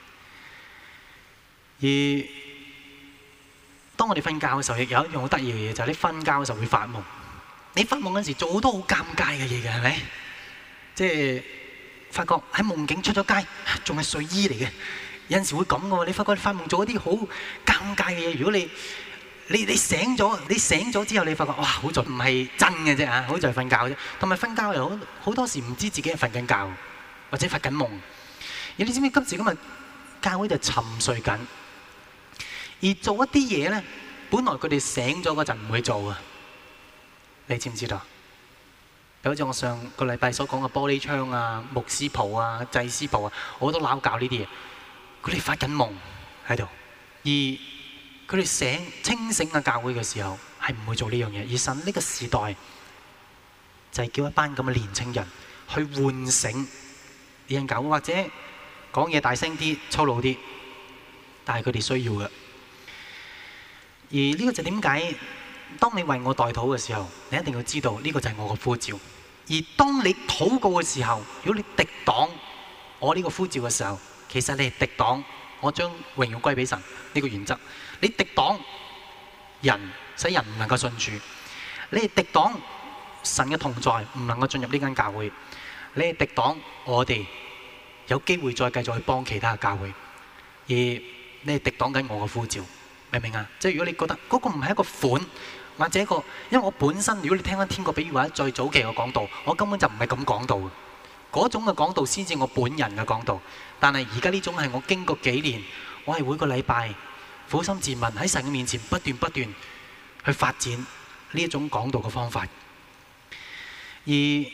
S1: 而當我哋瞓覺嘅時候，亦有一樣好得意嘅嘢，就係你瞓覺嘅時候會發夢。你發夢嗰陣時做好多好尷尬嘅嘢嘅，係咪？即係發覺喺夢境出咗街，仲係睡衣嚟嘅。有陣時會咁嘅喎。你發覺你發夢做一啲好尷尬嘅嘢，如果你你你醒咗，你醒咗之後，你發覺哇，好在唔係真嘅啫嚇，好在瞓覺啫。同埋瞓覺又好好多時唔知自己係瞓緊覺，或者發緊夢。而你知唔知今時今日教會就沉睡緊，而做一啲嘢咧，本來佢哋醒咗嗰陣唔會做啊。你知唔知道？ 就好似我上個禮拜所講嘅玻璃窗啊、牧師袍啊、祭司袍啊，好多撈教呢啲嘢。佢哋發緊夢喺度，而佢哋醒清醒嘅教會嘅時候係唔會做呢樣嘢。而神呢個時代就係叫一班咁嘅年青人去喚醒呢間教會，或者講嘢大聲啲、粗魯啲，但係佢哋需要嘅。而呢個就點解？當你為我代禱嘅時候，你一定要知道呢個就係我嘅呼召。而當你禱告嘅時候，如果你敵擋我呢個呼召嘅時候，其實你係敵擋我將榮耀歸俾神呢個原則。你敵擋人，使人唔能夠信主；你係敵擋神嘅同在，唔能夠進入呢間教會；你係敵擋我哋有機會再繼續去幫其他嘅教會。而你係敵擋緊我嘅呼召，明唔明啊？即係如果你覺得嗰個唔係一個款，或者一個，因為我本身如果你聽翻天國比喻或者最早期嘅講道，我根本就唔係咁講道嘅。嗰種嘅講道先至我本人嘅講道。但係而家呢種係我經過幾年，我係每個禮拜苦心自問喺神嘅面前不斷不斷去發展呢一種講道嘅方法。而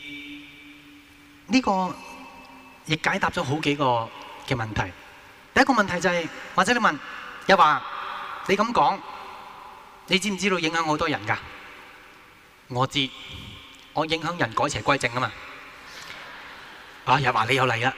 S1: 呢個亦解答咗好幾個嘅問題。第一個問題就係、是，或者你問又話你咁講，你知唔知道影響好多人㗎？我知，我影響人改邪歸正啊嘛。啊，又話你又嚟啦！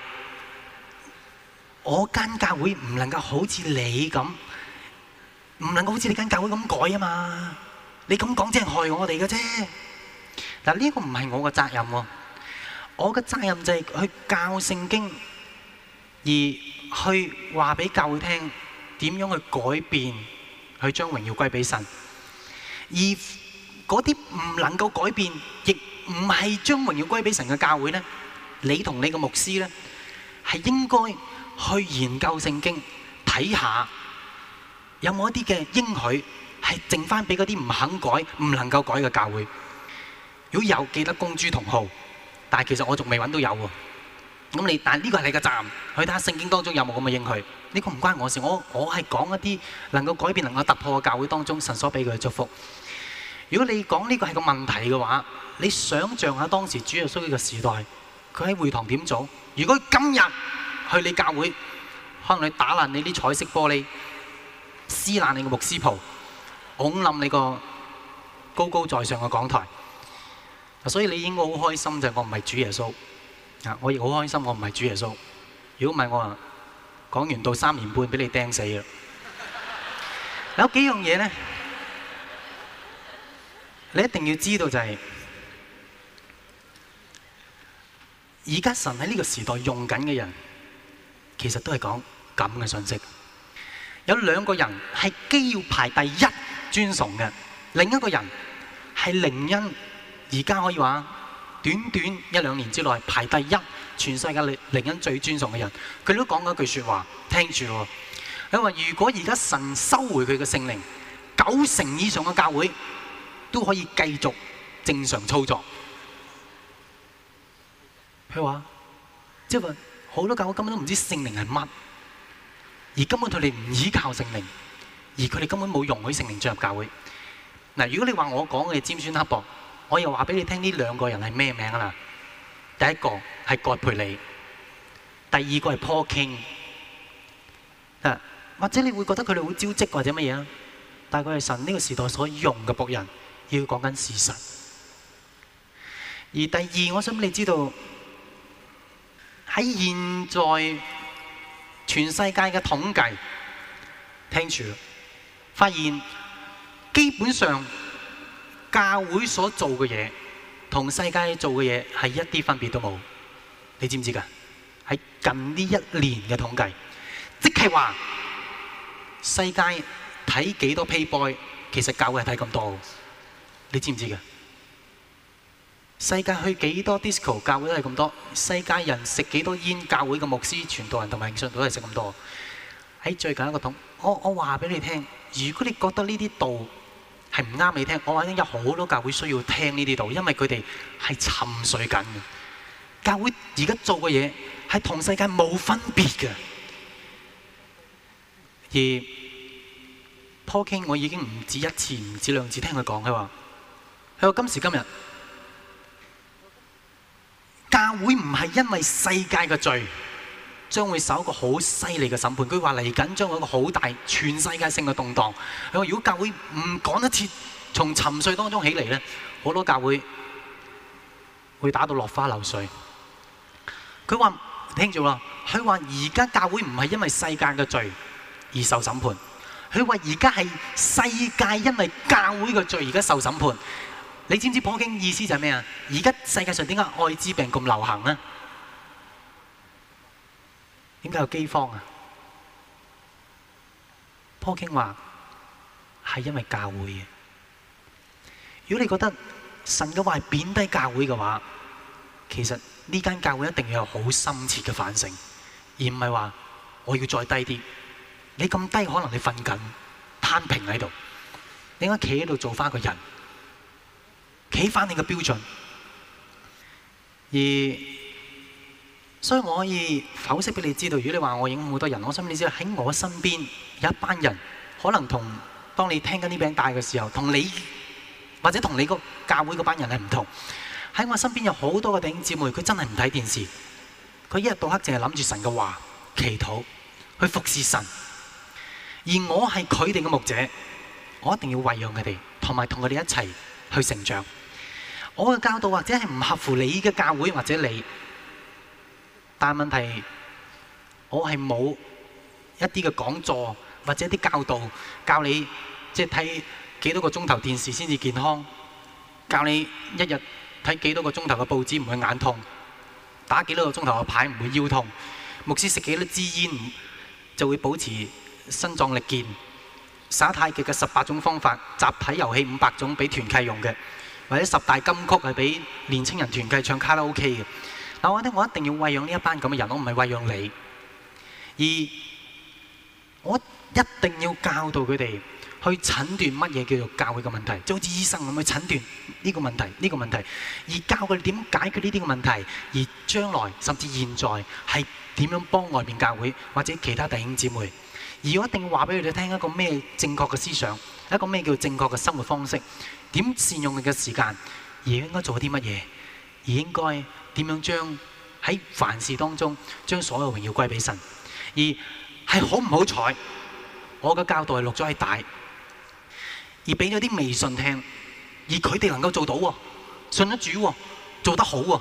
S1: 我間教會唔能夠好似你咁，唔能夠好似你間教會咁改啊嘛。你咁講即係害我哋嘅啫。嗱，呢個唔係我嘅責任喎。我嘅責任就係去教聖經，而去話俾教會聽點樣去改變，去將榮耀歸俾神。而嗰啲唔能夠改變，亦唔係將榮耀歸俾神嘅教會呢，你同你嘅牧師呢，係應該去研究聖經，睇下有冇一啲嘅應許係剩翻俾嗰啲唔肯改、唔能夠改嘅教會。如果有，記得公諸同好。但係其實我仲未揾到有喎。咁你，但係呢個係你嘅責任，去睇下聖經當中有冇咁嘅應許。呢個唔關我事，我我係講一啲能夠改變、能夠突破嘅教會當中神所俾佢嘅祝福。如果你講呢個係個問題嘅話，你想象下當時主耶穌嘅時代，佢喺會堂點做？如果今日去你教會，可能你打爛你啲彩色玻璃，撕爛你個牧師袍，拱冧你個高高在上嘅講台。所以你應該好開心就係我唔係主耶穌，啊！我亦好開心我唔係主耶穌。如果唔係我話講完到三年半俾你釘死啦。有幾樣嘢咧，你一定要知道就係，而家神喺呢個時代用緊嘅人，其實都係講咁嘅信息。有兩個人係既要排第一尊崇嘅，另一個人係靈恩。而家可以話短短一兩年之內排第一，全世界靈恩最尊崇嘅人，佢都講咗一句説話，聽住咯。佢話：如果而家神收回佢嘅聖靈，九成以上嘅教會都可以繼續正常操作。佢話：即係話好多教會根本都唔知聖靈係乜，而根本佢哋唔依靠聖靈，而佢哋根本冇容許聖靈進入教會。嗱，如果你話我講嘅尖酸刻薄，我又話俾你聽呢兩個人係咩名啦？第一個係葛培理，第二個係 Paul King。啊，或者你會覺得佢哋好招積或者乜嘢啊？但係佢係神呢個時代所用嘅僕人，要講緊事實。而第二，我想你知道喺現在全世界嘅統計，聽住，發現基本上教會所做嘅嘢同世界做嘅嘢係一啲分別都冇，你知唔知㗎？喺近呢一年嘅統計，即係話世界睇幾多 Playboy，其實教會係睇咁多，你知唔知㗎？世界去幾多 disco， 教會都係咁多；世界人食幾多煙，教會嘅牧師、傳道人同埋信徒都係食咁多。喺最近一個統，我我話俾你聽，如果你覺得呢啲道係唔啱你聽，我話有好多教會需要聽呢啲道，因為佢哋係沉睡緊嘅。教會而家做嘅嘢係同世界冇分別嘅。而 Paul King 我已經唔止一次、唔止兩次聽佢講，佢話：佢話今時今日教會唔係因為世界嘅罪將會受一個好犀利嘅審判，佢話嚟緊將會一個好大全世界性嘅動盪。佢話如果教會唔趕得切從沉睡當中起嚟咧，好多教會會打到落花流水。佢話聽住喎，佢話而家教會唔係因為世界嘅罪而受審判，佢話而家係世界因為教會嘅罪而家受審判。你知唔知普京意思就係咩啊？而家世界上點解愛滋病咁流行呢？點解有饑荒啊？普京話係因為教會嘅。如果你覺得神嘅話係貶低教會嘅話，其實呢間教會一定要有好深切嘅反省，而唔係話我要再低啲。你咁低，可能你瞓緊攤平喺度，你應該企喺度做翻個人，企翻你嘅標準。而所以我可以剖析俾你知道，如果你話我影響好多人，我想俾你知道喺我身邊有一班人，可能同當你聽緊呢餅帶嘅時候，同你或者同你個教會嗰班人係唔同。喺我身邊有好多個弟兄姊妹，佢真係唔睇電視，佢一日到黑淨係諗住神嘅話、祈禱、去服侍神。而我係佢哋嘅牧者，我一定要餵養佢哋，同埋同佢哋一齊去成長。我嘅教導或者係唔合乎你嘅教會或者你，但係問題我係冇一啲嘅講座或者一啲教導教你即係睇幾多個鐘頭電視先至健康，教你一日睇幾多個鐘頭嘅報紙唔會眼痛，打幾多個鐘頭嘅牌唔會腰痛，牧師食幾多支煙就會保持身壯力健，耍太極嘅十八種方法，集體遊戲五百種俾團契用嘅，或者十大金曲係俾年青人團契唱卡拉 OK 嘅。嗱，我覺得我一定要餵養呢一班咁嘅人，我唔係餵養你，而我一定要教導佢哋去診斷乜嘢叫做教會嘅問題，就好似醫生咁去診斷呢個問題、呢個問題，而教佢哋點解決呢啲嘅問題，而將來甚至現在係點樣幫外面教會或者其他弟兄姊妹。而我一定要話俾佢哋聽一個咩正確嘅思想，一個咩叫正確嘅生活方式，點善用佢嘅時間，而應該做啲乜嘢，而應該點樣將喺凡事當中將所有榮耀歸俾神。而係好唔好彩，我嘅教導係錄咗喺帶，而俾咗啲微信聽，而佢哋能夠做到喎，信得主喎，做得好喎。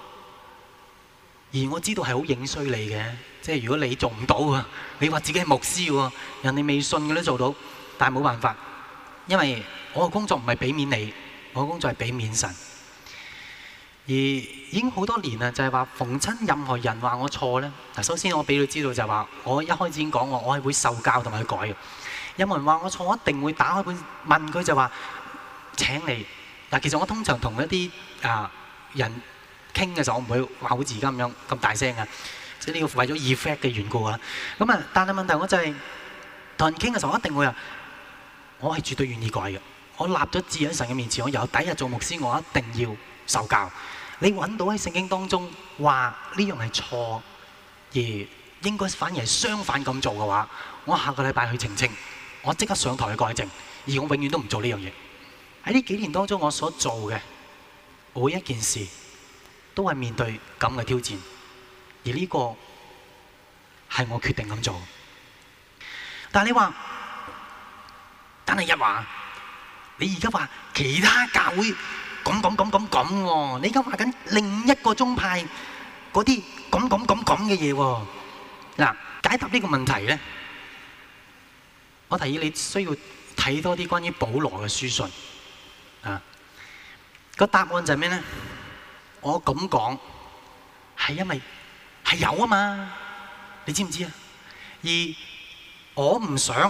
S1: 而我知道係好影衰你嘅，即係如果你做唔到啊，你話自己係牧師喎，人哋未信嘅都做到，但係冇辦法，因為我嘅工作唔係俾面你，我嘅工作係俾面神。而已經好多年啦，就係話逢親任何人話我錯咧，嗱，首先我俾佢知道就係話，我一開始已經講我，我係會受教同埋去改嘅。有冇人話我錯，我一定會打開本問佢就話請你。嗱，其實我通常同一啲啊人傾嘅時候，我唔會話好似而家咁樣咁大聲啊，即係呢個為咗 effect 嘅緣故啊。咁啊，但係問題我就係同人傾嘅時候，我一定會話我係絕對願意改嘅。我立咗志喺神嘅面前，我由第一日做牧師，我一定要受教。你揾到喺聖經當中話呢樣係錯，而應該反而係相反咁做嘅話，我下個禮拜去澄清，我即刻上台去改正，而我永遠都唔做呢樣嘢。喺呢幾年當中，我所做嘅每一件事都係面對咁嘅挑戰，而呢個係我決定咁做。但係你話，但係一話，你而家話其他教會咁咁咁咁咁喎，你而家話緊另一個宗派嗰啲咁咁咁咁嘅嘢喎。嗱，解答呢個問題咧，我提議你需要睇多啲關於保羅嘅書信啊。個答案就係咩咧？我咁講係因為係有啊嘛，你知唔知啊？而我唔想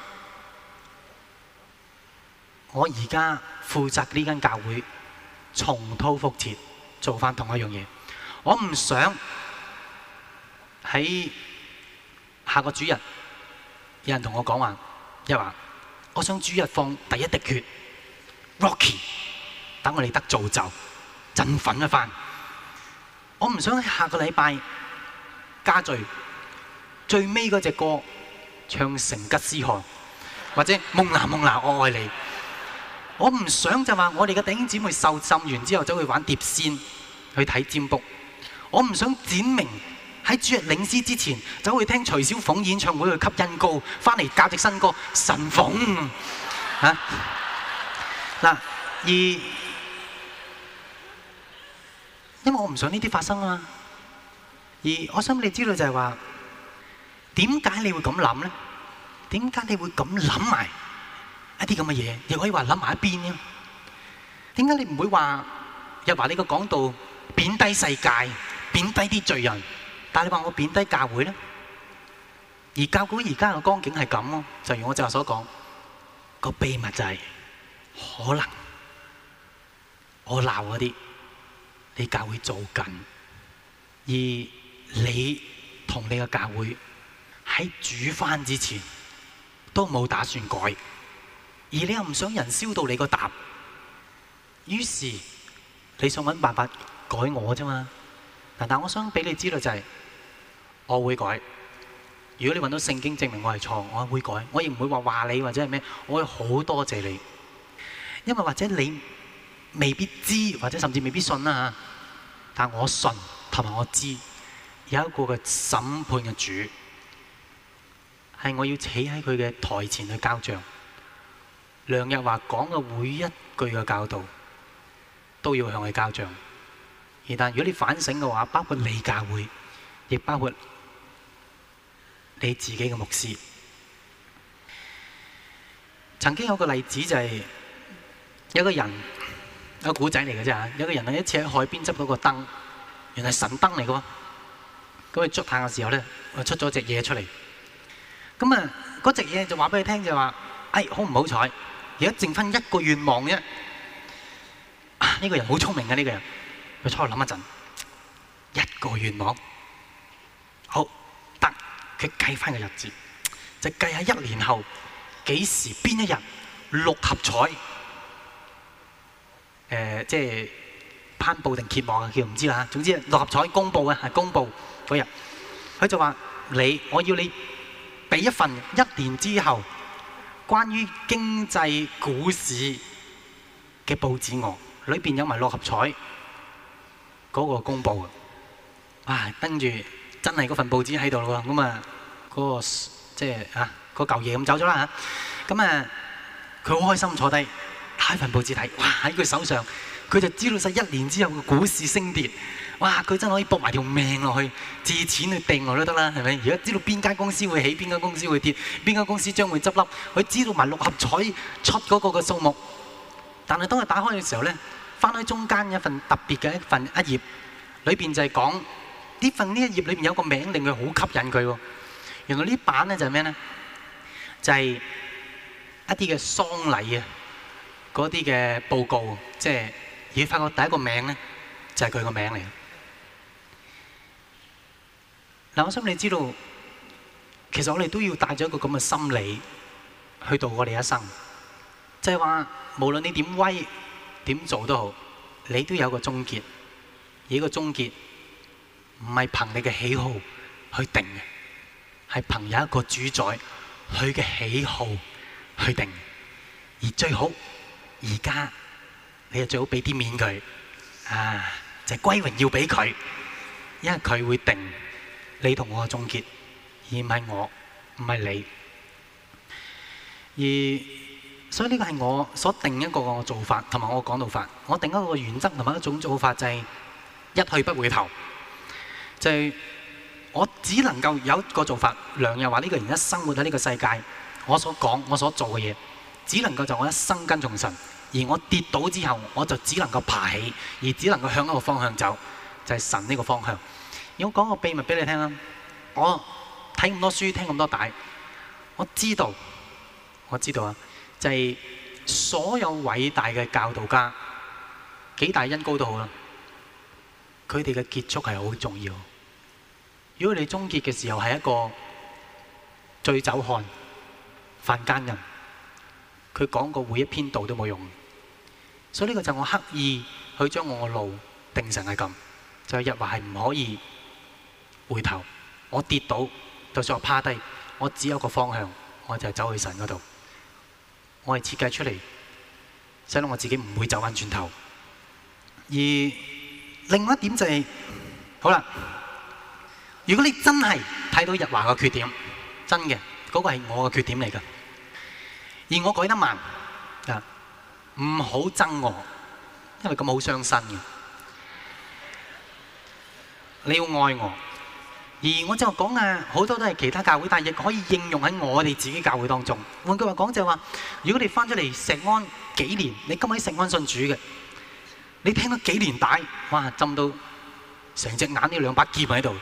S1: 我而家負責呢間教會重蹈覆轍，做翻同一樣嘢。我唔想喺下個主日有人同我講話，一話我想主日放第一滴血 Rocky， 等我哋得造就振奮一番。我唔想喺下個禮拜加聚最尾嗰隻歌唱成吉思汗，或者蒙娜蒙娜我愛你。我唔想就話我哋嘅弟兄姊妹受浸完之後走去玩碟仙，去睇占卜， 我唔想展明喺主日領詩之前走去聽徐小鳳演唱會去吸恩膏，翻嚟教隻新歌神鳳嚇嗱，而因為我唔想呢啲發生啊嘛。而我想你知道就係話，點解你會咁諗咧？點解你會咁諗埋一啲咁嘅嘢？亦可以話諗埋一邊咧？點解你唔會話又話你個講道貶低世界、貶低啲罪人？但係你話我貶低教會咧？而教會而家嘅光景係咁咯，就如我就所講，個秘密就係可能我鬧嗰啲，你教會做緊，而你同你嘅教會喺煮翻之前都冇打算改，而你又唔想人燒到你個答，於是你想揾辦法改我啫嘛。但係我想俾你知道就係，我會改。如果你揾到聖經證明我係錯，我會改。我亦唔會話話你或者係咩，我會好多謝你，因為或者你未必知，或者甚至未必信啦嚇。但我信同埋我知有一個嘅審判嘅主，係我要企喺佢嘅台前去交帳。梁日華講嘅每一句嘅教導都要向佢交帳。而但如果你反省嘅話，包括你教會，亦包括你自己嘅牧師。曾經有個例子就係、是、有個人，有個古仔嚟嘅啫。有個人喺一次喺海邊執到個燈，原來係神燈嚟嘅喎。咁佢捉下嘅時候咧，我出咗隻嘢出嚟。咁啊，嗰隻嘢就話俾佢聽就話：哎，好唔好彩？而家剩翻一個願望啫。呢、啊呢個人好聰明嘅呢、呢個人。佢初諗一陣，一個願望，好得，佢計翻個日子，就計喺一年後幾時邊一日六合彩，誒、呃、即係頒布定揭幕啊，叫唔知啦。總之六合彩公佈啊，係公佈嗰日，佢就話你，我要你俾一份一年之後關於經濟股市嘅報紙我，裏邊有埋六合彩。嗰個公佈啊，啊跟住真係嗰份報紙喺度咯喎，咁啊嗰個即係啊嗰嚿嘢咁走咗啦嚇，咁啊佢好開心坐低睇份報紙睇，哇喺佢手上佢就知道晒一年之後嘅股市升跌，哇佢真係可以搏埋條命落去，借錢去掟落都得啦，係咪？而家知道邊間公司會起，邊間公司會跌，邊間公司將會執笠，佢知道埋六合彩出嗰個嘅數目，但係當佢打開嘅時候咧。翻開中間一份特別嘅一份一頁，裏邊就係講呢份呢一頁裏邊有個名令佢好吸引佢喎。原來呢版咧就係咩咧？就係一啲嘅喪禮啊，嗰啲嘅報告，即係而發覺第一個名咧就係佢個名嚟。嗱，我想你知道，其實我哋都要帶咗一個咁嘅心理去度我哋一生，即係話無論你點威。點做都好，你都有個終結。而呢個終結唔係憑你嘅喜好去定嘅，係憑有一個主宰佢嘅喜好去定。而最好而家你就最好俾啲面佢啊，就係歸榮要俾佢，因為佢會定你同我嘅終結，而唔係我，唔係你。而所以呢個係我所定一個個做法，同埋我講道法。我定一個原則同埋一種做法，就係一去不回頭。就係我只能夠有一個做法。梁日華呢個人一生活喺呢個世界，我所講、我所做嘅嘢，只能夠就我一生跟從神。而我跌倒之後，我就只能夠爬起，而只能夠向一個方向走，就係神呢個方向。而我講個秘密俾你聽啦。我睇咁多書，聽咁多帶，我知道，我知道啊。就係所有偉大嘅教導家，幾大恩膏都好啦，佢哋嘅結束係好重要。如果你終結嘅時候係一個醉酒漢、犯奸人，佢講過每一篇道都冇用。所以呢個就我刻意去將我嘅路定成係咁，就係日華係唔可以回頭。我跌倒，就算我趴低，我只有個方向，我就係走去神嗰度。我係設計出嚟，使到我自己唔會走翻轉頭。而另外一點就係好啦，如果你真係睇到日華嘅缺點，真嘅嗰個係我嘅缺點嚟㗎，而我改得慢啊，唔好憎我，因為咁好傷身嘅。你要愛我，而我就講啊，好多都係其他教會，但係亦可以應用喺我哋自己教會當中。換句話講就係話，如果你翻咗嚟石安幾年，你今日喺石安信主嘅，你聽咗幾年帶，哇，浸到成隻眼呢兩把劍喺度。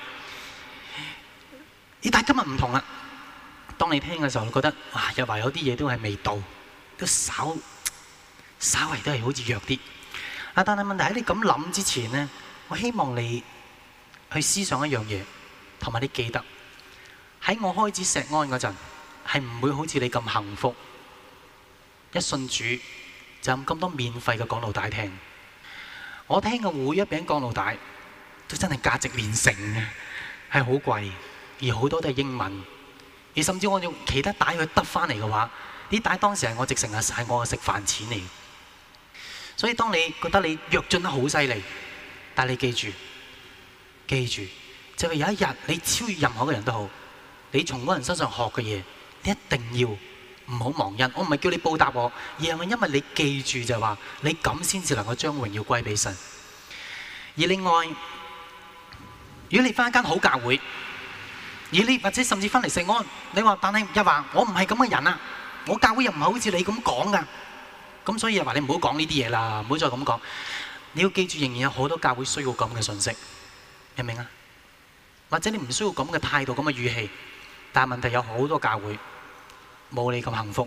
S1: 咦？但係今日唔同啦，當你聽嘅時候，你覺得哇，又話有啲嘢都係未到，都稍稍為都係好似弱啲。啊，但係問題喺你咁諗之前咧，我希望你去思想一樣嘢，同埋你記得喺我開始石安嗰陣，係唔會好似你咁幸福。一信主就有咁多免費嘅講道帶聽，我聽嘅每一餅講道帶都真係價值連城嘅，係好貴，而好多都係英文，而甚至我用其他帶去得翻嚟嘅話，啲帶當時係我直成係係我嘅食飯錢嚟。所以當你覺得你躍進得好犀利，但係你記住。記住，就係有一日你超越任何嘅人都好，你從嗰人身上學嘅嘢，你一定要唔好忘恩。我唔係叫你報答我，而係因為你記住就係話，你咁先至能夠將榮耀歸俾神。而另外，如果你翻一間好教會，而你或者甚至翻嚟石安，你話但係又話我唔係咁嘅人啊，我教會又唔係好似你咁講噶，咁所以又話你唔好講呢啲嘢啦，唔好再咁講。你要記住，仍然有好多教會需要咁嘅信息。明唔明啊？或者你唔需要咁嘅態度、咁嘅語氣，但係問題有好多教會冇你咁幸福。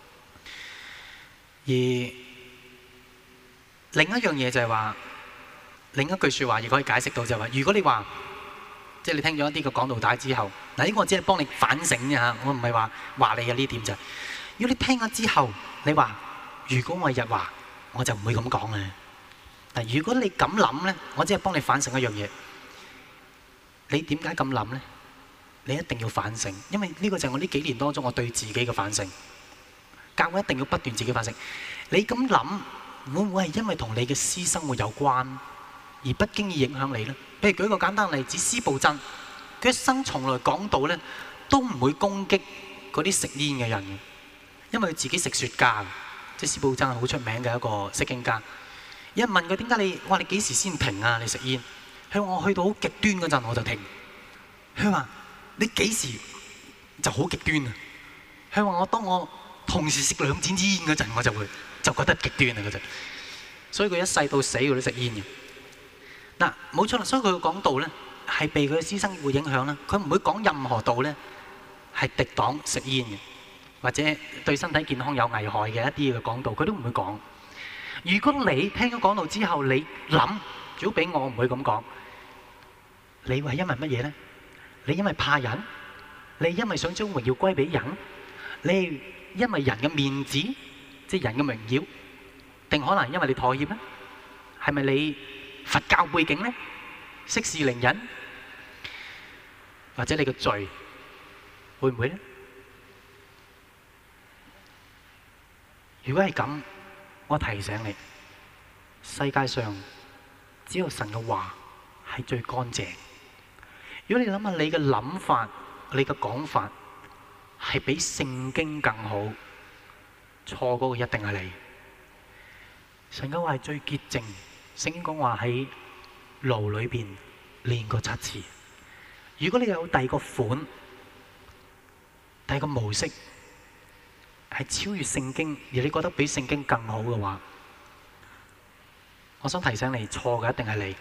S1: 而另一樣嘢就係話，另一句説話亦可以解釋到就係話，如果你話即係你聽咗一啲嘅講道帶之後，嗱呢個我只係幫你反省啫嚇，我唔係話話你嘅呢點就係。如果你聽咗之後，你話如果我係日華，我就唔會咁講嘅。嗱，如果你咁諗咧，我只係幫你反省一樣嘢。你點解咁諗呢？你一定要反省，因為呢個就係我呢幾年當中我對自己嘅反省。教會一定要不斷自己反省。你咁諗會唔會係因為同你嘅私生活有關，而不經意影響你呢？譬如舉個簡單例子，司布真，佢一生從來講道呢都唔會攻擊嗰啲食煙嘅人嘅，因為佢自己食雪茄，即係司布真係好出名嘅一個釋經家。有人問佢點解你，哇你幾時先停啊？你食煙？佢話我去到好極端嗰陣我就停。佢話你幾時就好極端啊？佢話我當我同時食兩支煙嗰陣我就會就覺得極端啊嗰陣。所以佢一世到死佢都食煙嘅。嗱冇錯啦，所以佢講道咧係被佢嘅私生活影響啦。佢唔會講任何道咧係敵擋食煙嘅，或者對身體健康有危害嘅一啲嘅講道，佢都唔會講。如果你聽咗講道之後，你諗如果俾我唔會咁講。你係因為乜嘢呢？你因為怕人？你因為想將榮耀歸俾人？你因為人嘅面子，即係人嘅榮耀，定可能因為你妥協呢？係咪你佛教背景呢？息事寧人，或者你嘅罪會唔會呢？如果係咁，我提醒你，世界上只有神嘅話係最乾淨。如果你諗下你嘅諗法、你嘅講法係比聖經更好，錯嗰個一定係你。神嘅話係最潔淨，聖經講話喺爐裏邊煉過七次。如果你有第二個款、第二個模式係超越聖經，而你覺得比聖經更好嘅話，我想提醒你，錯嘅一定係你。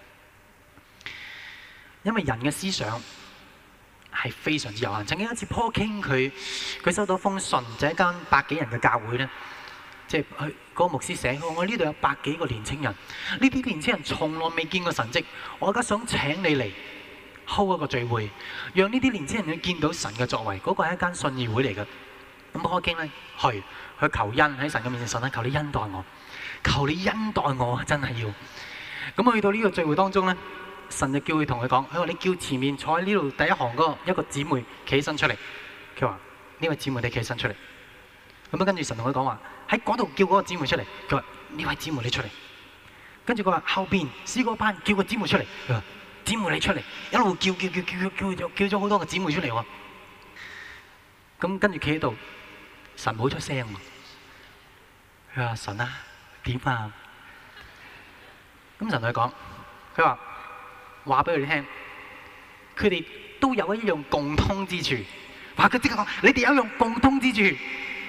S1: 因為人嘅思想係非常之有限。曾經有一次 Paul King 佢佢收到封信，就係一間百幾人嘅教會咧，即係佢嗰個牧師寫：我呢度有百幾個年青人，呢啲年青人從來未見過神蹟，我而家想請你嚟 hold 一個聚會，讓呢啲年青人去見到神嘅作為。嗰個係一間信義會嚟嘅。咁 Paul King 咧去去求恩喺神嘅面前，神啊，求你恩待我，求你恩待我，真係要。咁去到呢個聚會當中咧，神就叫佢同佢講，佢話你叫前面坐喺呢度第一行嗰一個姊妹企起身出嚟。佢話呢位姊妹你企起身出嚟。咁啊跟住神同佢講話喺嗰度叫嗰個姊妹出嚟。佢話呢位姊妹你出嚟。跟住佢話後邊詩歌班叫個姊妹出嚟。佢話姊妹你出嚟，一路叫叫叫叫叫叫叫咗好多個姊妹出嚟喎。咁跟住企喺度，神冇出聲喎。佢話神啊，點啊？咁神同佢講，佢話話俾佢哋聽，佢哋都有一樣共通之處。話佢即刻講，你哋有一樣共通之處。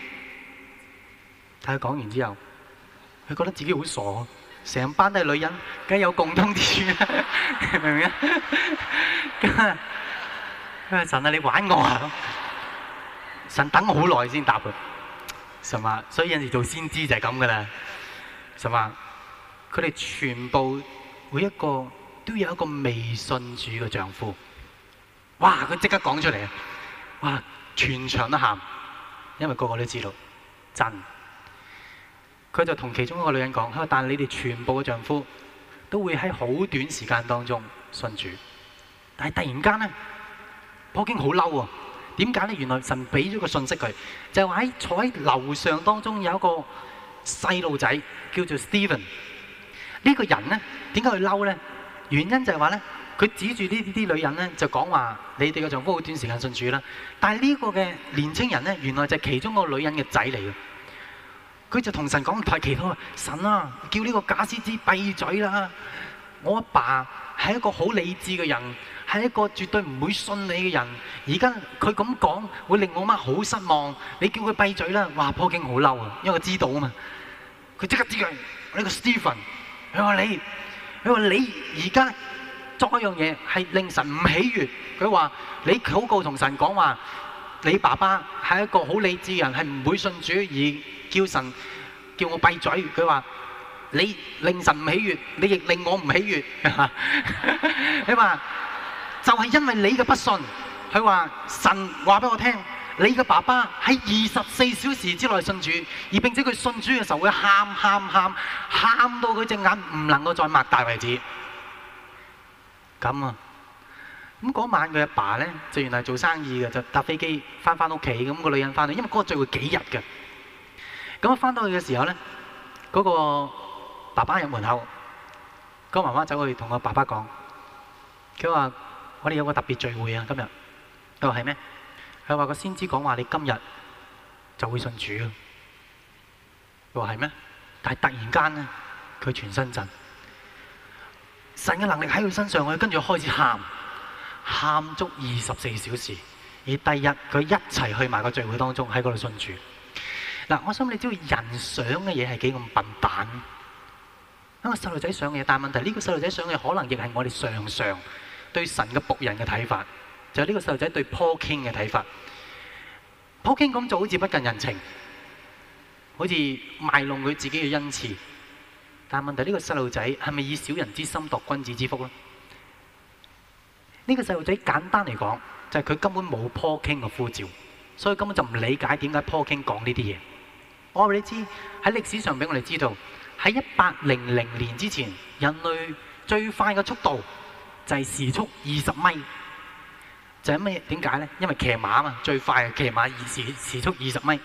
S1: 但係講完之後，佢覺得自己好傻，成班都係女人，梗係有共通之處啦，明唔明啊？咁啊，佢話神啊，你玩我啊！神等我好耐先答佢，神話，所以有陣時做先知就係咁噶啦。神話，佢哋全部每一個都有一個未信主嘅丈夫。哇！佢即刻講出嚟啊！哇！全場都喊，因為個個都知道真。佢就同其中一個女人講：佢話，但係你哋全部嘅丈夫都會喺好短時間當中信主，但係突然間咧，普京好嬲啊！點解咧？原來神俾咗個信息佢，就係話喺坐喺樓上當中有一個細路仔叫做 Steven。呢個人咧，點解佢嬲咧？原因就係話咧，佢指住呢啲女人咧，就講話你哋嘅丈夫好短時間信主啦。但係呢個嘅年青人咧，原來就係其中個女人嘅仔嚟嘅。佢就同神講，佢祈禱，神啊，叫呢個假先知閉嘴啦！我阿爸係一個好理智嘅人，係一個絕對唔會信你嘅人。而家佢咁講，會令我媽好失望。你叫佢閉嘴啦！哇，普京好嬲啊，因為佢知道啊嘛。佢即刻知佢呢個 Stephen， 佢話你，佢話你而家作一樣嘢係令神唔喜悅。佢話你禱告同神講話，你爸爸係一個好理智嘅人，係唔會信主而。叫神叫我閉嘴，佢話你令神唔喜悅，你亦令我唔喜悅。佢話就係因為你嘅不信，佢話神話俾我聽，你嘅爸爸喺二十四小時之內信主，而並且佢信主嘅時候會喊喊喊喊到佢隻眼唔能夠再擘大為止。咁啊，咁嗰晚佢阿爸咧就原來做生意嘅，就搭飛機翻翻屋企，咁個女人翻到，因為嗰個聚會幾日嘅。咁翻到去嘅時候咧，嗰個爸爸入門口，嗰個媽媽走去同個爸爸講，佢話：我哋有個特別聚會啊，今日。佢話係咩？佢話個先知講話你今日就會信主啊。佢話係咩？但係突然間咧，佢全身震，神嘅能力喺佢身上，佢跟住開始喊，喊足二十四小時。而第二日佢一齊去埋個聚會當中喺嗰度信主。嗱，我想你知道人想嘅嘢係幾咁笨蛋。一個細路仔想嘅嘢，但係問題呢個細路仔想嘅可能亦係我哋常常對神嘅僕人嘅睇法，就係呢個細路仔對 Paul King 嘅睇法。Paul King 咁做好似不近人情，好似賣弄佢自己嘅恩賜。但係問題呢個細路仔係咪以小人之心度君子之腹咧？呢個細路仔簡單嚟講，就係佢根本冇 Paul King 嘅呼召，所以根本就唔理解點解 Paul King 講呢啲嘢。我話你知喺歷史上俾我哋知道，喺一八零零年之前，人類最快嘅速度就係時速二十米。就係咩？點解咧？因為騎馬嘛，最快係騎馬二時時速二十米。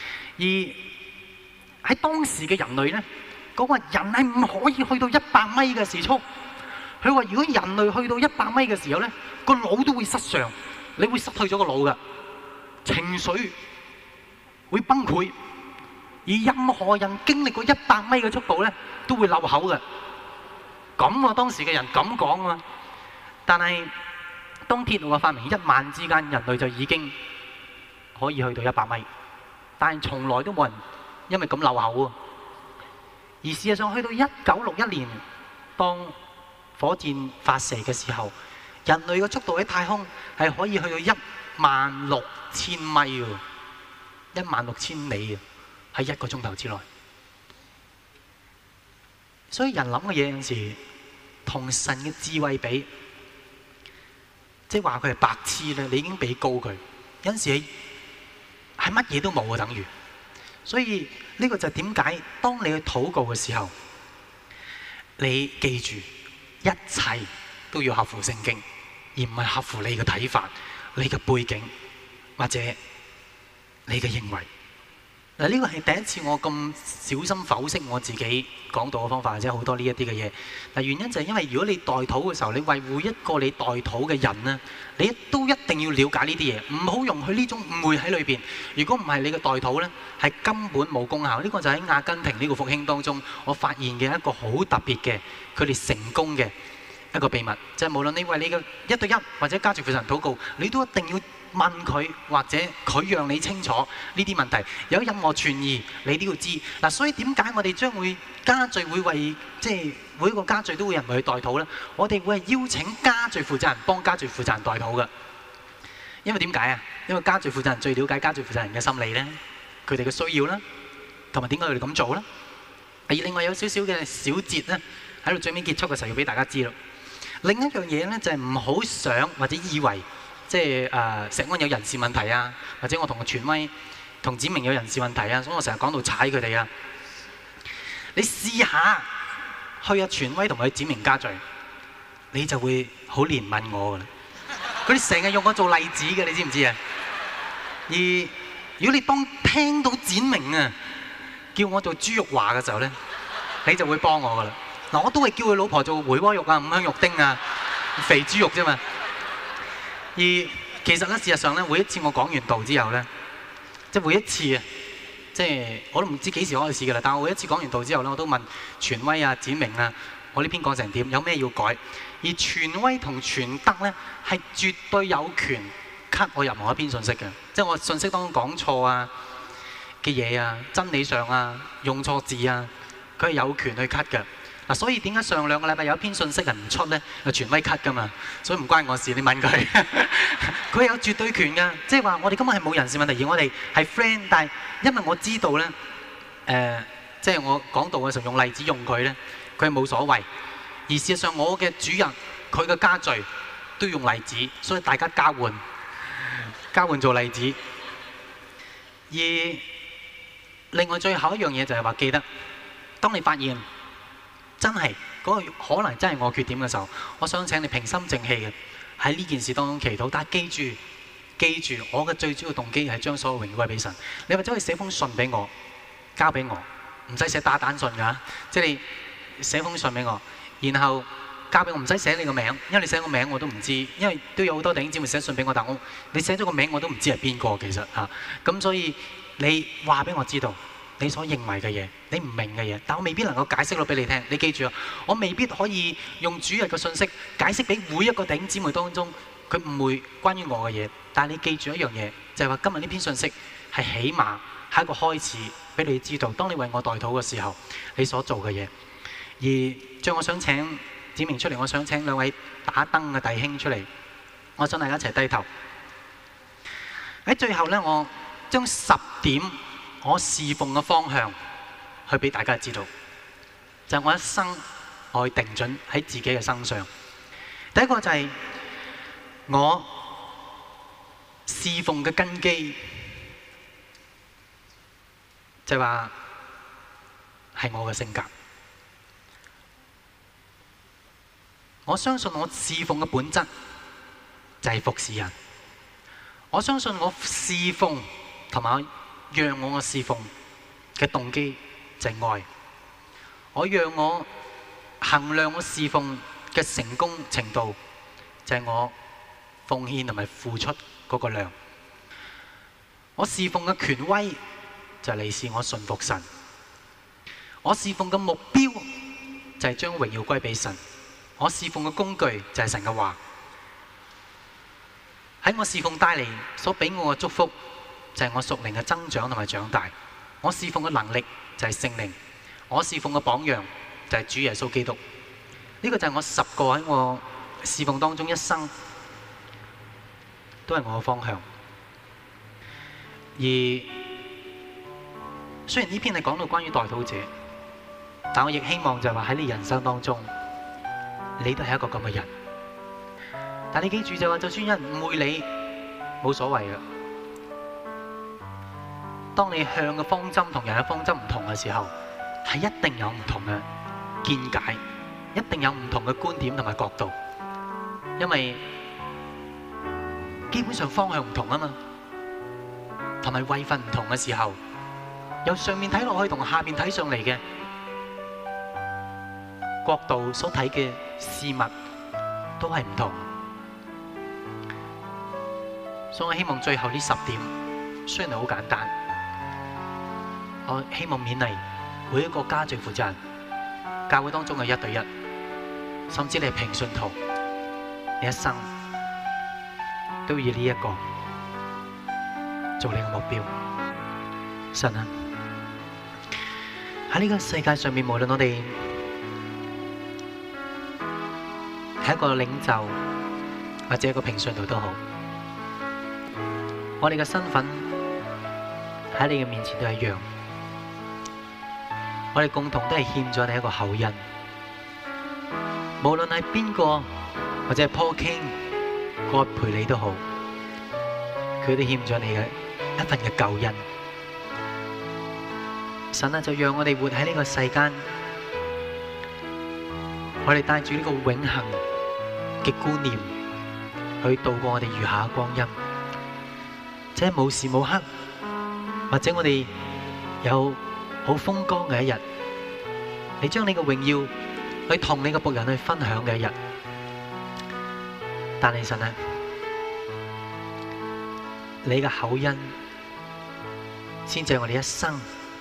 S1: 而喺當時嘅人類咧，講話人係唔可以去到一百米嘅時速。佢話如果人類去到一百米嘅時候咧，個腦都會失常，你會失去咗個腦㗎，情緒會崩潰。而任何人經歷過一百米嘅速度咧，都會漏口嘅。咁啊，當時嘅人咁講啊。但係當鐵路嘅發明，一晚之間人類就已經可以去到一百米，但係從來都冇人因為咁漏口啊。而事實上，去到一九六一年，當火箭發射嘅時候，人類嘅速度喺太空係可以去到一萬六千米喎，一萬六千里啊！喺一個鐘頭之內，所以人諗嘅嘢有陣時同神嘅智慧比，即係話佢係白痴咧，你已經比高佢。有陣時係乜嘢都冇啊，等於。所以呢個就係點解當你去禱告嘅時候，你記住一切都要合乎聖經，而唔係合乎你嘅睇法、你嘅背景或者你嘅認為。 嗱，呢個係第一次我咁小心剖析我自己講道嘅方法，或者好多呢一啲嘅嘢。嗱，原因就係因為如果你代禱嘅時候，你維護一個你代禱嘅人咧，你都一定要了解呢啲嘢，唔好容許呢種誤會喺裏邊。如果唔係，你嘅代禱咧係根本冇功效。呢個就喺阿根廷呢個復興當中，我發現嘅一個好特別嘅佢哋成功嘅一個秘密，就係無論你為你嘅一對一或者家族父神禱告，你都一定要問佢，或者佢讓你清楚呢啲問題，有任何存疑你都要知嗱。所以點解我哋將會家聚會為即係每一個家聚都會有人為去代禱呢？我哋會係邀請家聚負責人幫家聚負責人代禱嘅，因為點解啊？因為家聚負責人最了解家聚負責人嘅心理呢，佢哋嘅需要啦，同埋點解佢哋咁做呢？而另外有少少嘅小節呢，喺度最尾結束嘅時候要俾大家知咯。另一樣嘢呢，就係唔好想或者以為。即係誒石安有人事問題啊，或者我同個權威同子明有人事問題啊，所以我成日講到踩佢哋啊。你試下去阿權威同佢子明家聚，你就會好憐憫我㗎啦。佢哋成日用我做例子嘅，你知唔知啊？而如果你當聽到展明啊叫我做豬肉華嘅時候咧，你就會幫我㗎啦。嗱，我都係叫佢老婆做回鍋肉啊、五香肉丁啊、肥豬肉啫嘛。而其實咧，事實上咧，每一次我講完道之後咧，即係每一次啊，即係我都唔知幾時開始㗎啦。但係我每一次講完道之後咧，我都問傳威啊、展明啊，我呢篇講成點？有咩要改？而傳威同傳德咧，係絕對有權 cut 我任何一篇信息嘅，即係我信息當中講錯啊嘅嘢啊、真理上啊、用錯字啊，佢係有權去 cut 嘅。嗱，所以點解上兩個禮拜有一篇信息係唔出咧？係權威 cut 噶嘛，所以唔關我事。你問佢，佢有絕對權㗎。即係話我哋根本係冇人事問題，而我哋係 friend。但係因為我知道咧，誒、呃，即係我講道嘅時候用例子用佢咧，佢係冇所謂。而事實上我嘅主人佢嘅家聚都用例子，所以大家交換交換做例子。而另外最後一樣嘢就係話，記得當你發現真係嗰個可能真係我缺點嘅時候，我想請你平心靜氣嘅喺呢件事當中祈禱。但係記住，記住我嘅最主要動機係將所有榮耀歸俾神。你或者可以寫封信俾我，交俾我，唔使寫打蛋信㗎，即係你寫封信俾我，然後交俾我，唔使寫你個名，因為你寫個名我都唔知，因為都有好多弟兄姊妹寫信俾我，但我你寫咗個名我都唔知係邊個其實嚇。咁、啊、所以你話俾我知道你所認為嘅嘢，你唔明嘅嘢，但我未必能夠解釋到俾你聽。你記住啊，我未必可以用主日嘅信息解釋俾每一個弟兄姊妹當中佢誤會關於我嘅嘢。但係你記住一樣嘢，就係話今日呢篇信息係起碼係一個開始，俾你知道，當你為我代禱嘅時候，你所做嘅嘢。而最後我想請指明出嚟，我想請兩位打燈嘅弟兄出嚟，我想大家一齊低頭。喺最後呢，我將十點我侍奉嘅方向去俾大家知道，就係我一生我去定準喺自己嘅身上。第一個就係我侍奉嘅根基，就係話係我嘅性格。我相信我侍奉嘅本質就係服侍人。我相信我侍奉同埋讓我嘅侍奉嘅動機就係愛。我讓我衡量我侍奉嘅成功程度就係我奉獻同埋付出嗰個量。我侍奉嘅權威就係嚟自我信服神。我侍奉嘅目標就係將榮耀歸俾神。我侍奉嘅工具就係神嘅話。喺我侍奉帶嚟所俾我嘅祝福就係我屬靈嘅增長同埋長大。我侍奉嘅能力就係聖靈。我侍奉嘅榜樣就係主耶穌基督。呢個就係我十個喺我侍奉當中一生都係我嘅方向。而雖然呢篇係講到關於代禱者，但我亦希望就係話喺你人生當中，你都係一個咁嘅人。但你記住就話，就算有人誤會你，冇所謂嘅。當你向嘅方針同人嘅方針唔同嘅時候，係一定有唔同嘅見解，一定有唔同嘅觀點同埋角度。因為基本上方向唔同啊嘛，同埋位份唔同嘅時候， 由上面睇落去同下面睇上嚟嘅角度所睇嘅事物都係唔同。所以我希望最後呢十點雖然係好簡單，我希望勉勵每一個家聚負責人，教會當中嘅一對一，甚至你係平信徒，你一生都以呢一個做你嘅目標。神啊，喺呢個世界上面，無論我哋係一個領袖或者一個平信徒都好，我哋嘅身份喺你嘅面前都係一樣，我哋共同都係欠咗你一個厚恩。無論係邊個或者係 Paul King 葛培理都好，佢都欠咗你嘅一份嘅救恩。神啊，就讓我哋活喺呢個世間，我哋帶住呢個永恆嘅觀念去度過我哋餘下嘅光陰。即係無時無刻，或者我哋有好風光嘅一日，你將你嘅榮耀去同你嘅僕人去分享嘅一日。但係神啊，你嘅厚恩先至係我哋一生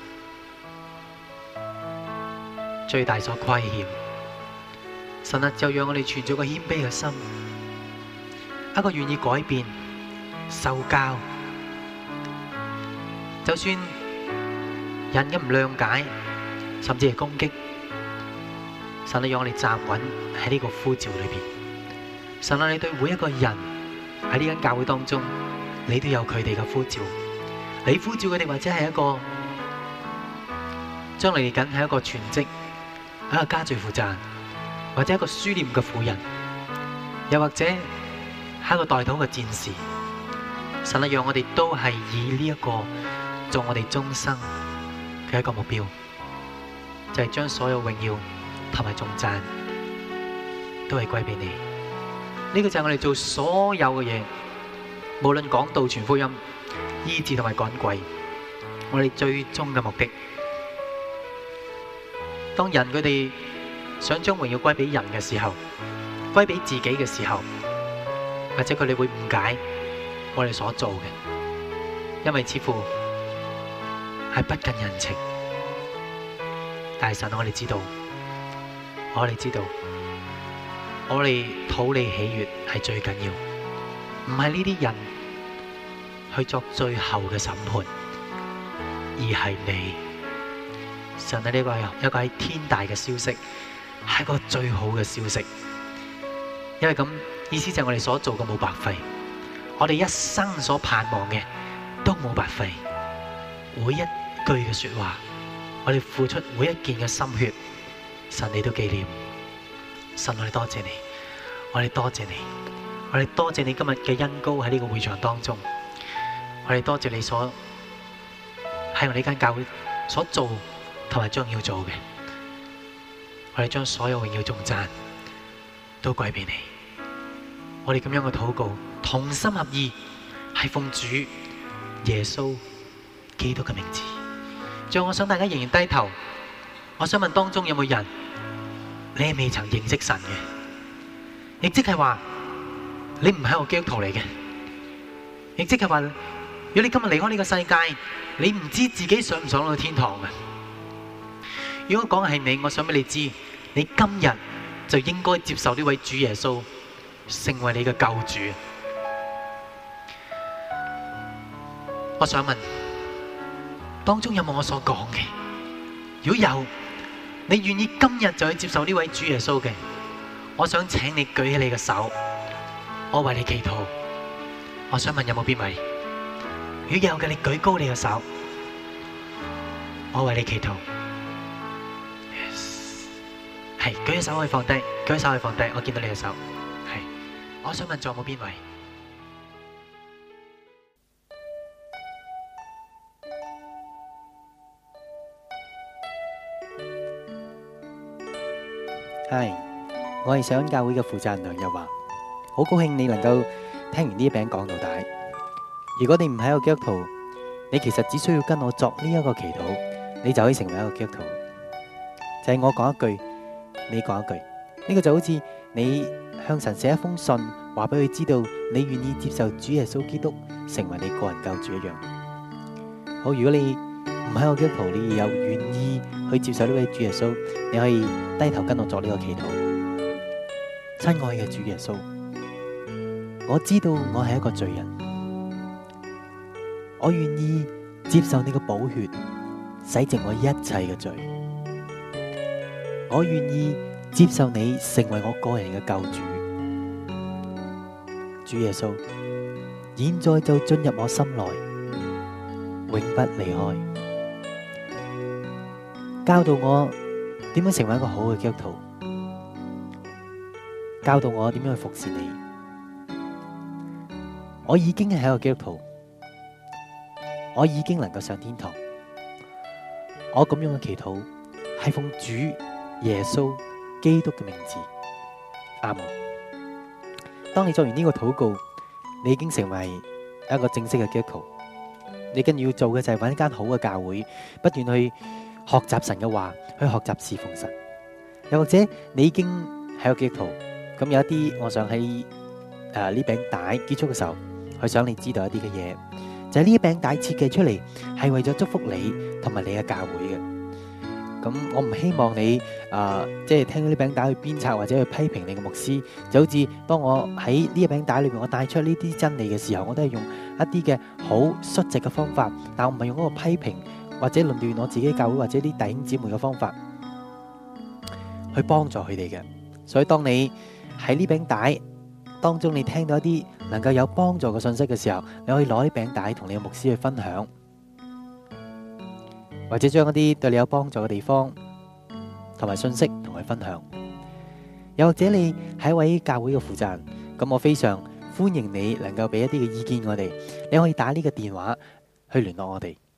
S1: 最大所虧欠。神啊，就讓我哋存咗個謙卑嘅心，一個願意改變、受教。就算人嘅唔諒解，甚至係攻擊，神啊，讓我哋站穩喺呢個呼召裏邊。神啊，你對每一個人喺呢間教會當中，你都有佢哋嘅呼召。你呼召佢哋，或者係一個將嚟緊係一個全職、一個家聚負責人，或者一個書念嘅婦人，又或者係一個代禱嘅戰士。神啊，讓我哋都係以呢一個做我哋終生嘅一個目標，就係將所有榮耀同埋頌讚都係歸俾你。呢個就係我哋做所有嘅嘢，無論講道、傳福音、醫治同埋趕鬼，我哋最終嘅目的。當人佢哋想將榮耀歸俾人嘅時候，歸俾自己嘅時候，或者佢哋會誤解我哋所做嘅，因為似乎係不近人情。但係神，我哋知道，我哋知道，我哋討你喜悅係最緊要，唔係呢啲人去作最後嘅審判，而係你。神啊，呢個係一個係天大嘅消息，係一個最好嘅消息。因為咁意思就係我哋所做嘅冇白費，我哋一生所盼望嘅都冇白費。每一句嘅說話，我哋付出每一件嘅心血，神你都紀念。神，我哋多謝你，我哋多謝你，我哋多謝你今日嘅恩膏喺呢個會場當中，我哋多謝你所喺我哋呢間教會所做同埋將要做嘅，我哋將所有榮耀頌讚都歸俾你。我哋咁樣嘅禱告，同心合意，係奉主耶穌基督嘅名字。最後我想大家仍然低頭，我想問當中有冇人你係未曾認識神嘅？亦即係話你唔係個基督徒嚟嘅，亦即係話如果你今日離開呢個世界，你唔知自己上唔上到天堂嘅。如果講係你，我想俾你知，你今日就應該接受呢位主耶穌成為你嘅救主。我想問當中有冇我所講嘅？如果有，你願意今日就去接受呢位主耶穌嘅，我想請你舉起你嘅手，我為你祈禱。我想問有冇邊位？如果有嘅，你舉高你嘅手，我為你祈禱。係，舉起手可以放低，舉起手可以放低，我見到你嘅手。係，我想問仲有冇邊位？
S2: 係，我係上恩教會嘅負責人梁日華，好高興你能夠聽完呢一餅講到底。如果你唔係一個基督徒， 你其實只需要跟我作呢一個祈禱，你就可以成為一個基督徒。就係我講一句，你講一句，呢個就好似你向神寫一封信，話俾佢知道你願意接受主耶穌基督成為你個人救主一樣。好，如果你唔係個基督徒，你又願意去接受呢位主耶穌，你可以低頭跟我作呢個祈禱。親愛嘅主耶穌，我知道我係一個罪人，我願意接受你嘅寶血洗淨我一切嘅罪，我願意接受你成為我個人嘅救主。主耶穌，現在就進入我心內，永不離開。教導我點樣成為一個好嘅基督徒，教導我點樣去服侍你。我已經係一個基督徒，我已經能夠上天堂。我咁樣嘅祈禱係奉主耶穌基督嘅名字，阿門。當你做完呢個禱告，你已經成為一個正式嘅基督徒。你跟住要做嘅就係揾一間好嘅教會，不斷去學習神嘅話，去學習侍奉神。又或者你已經係個基督徒，咁有一啲，我想喺誒呢餅帶結束嘅時候，去想你知道一啲嘅嘢，就係呢一餅帶設計出嚟係為咗祝福你同埋你嘅教會嘅。咁我唔希望你啊，即係聽到呢餅帶去鞭策或者去批評你嘅牧師，就好似當我喺呢一餅帶裏面我帶出呢啲真理嘅時候，我都係用一啲嘅好率直嘅方法，但我唔係用嗰個批評或者論斷我自己教會或者啲弟兄姊妹嘅方法去幫助佢哋嘅。所以當你喺呢餅帶當中你聽到一啲能夠有幫助嘅信息嘅時候，你可以攞呢餅帶同你嘅牧師去分享，或者將一啲對你有幫助嘅地方同埋信息同佢分享。又或者你係一位教會嘅負責人，咁我非常歡迎你能夠俾一啲嘅意見我哋。你可以打呢個電話去聯絡我哋。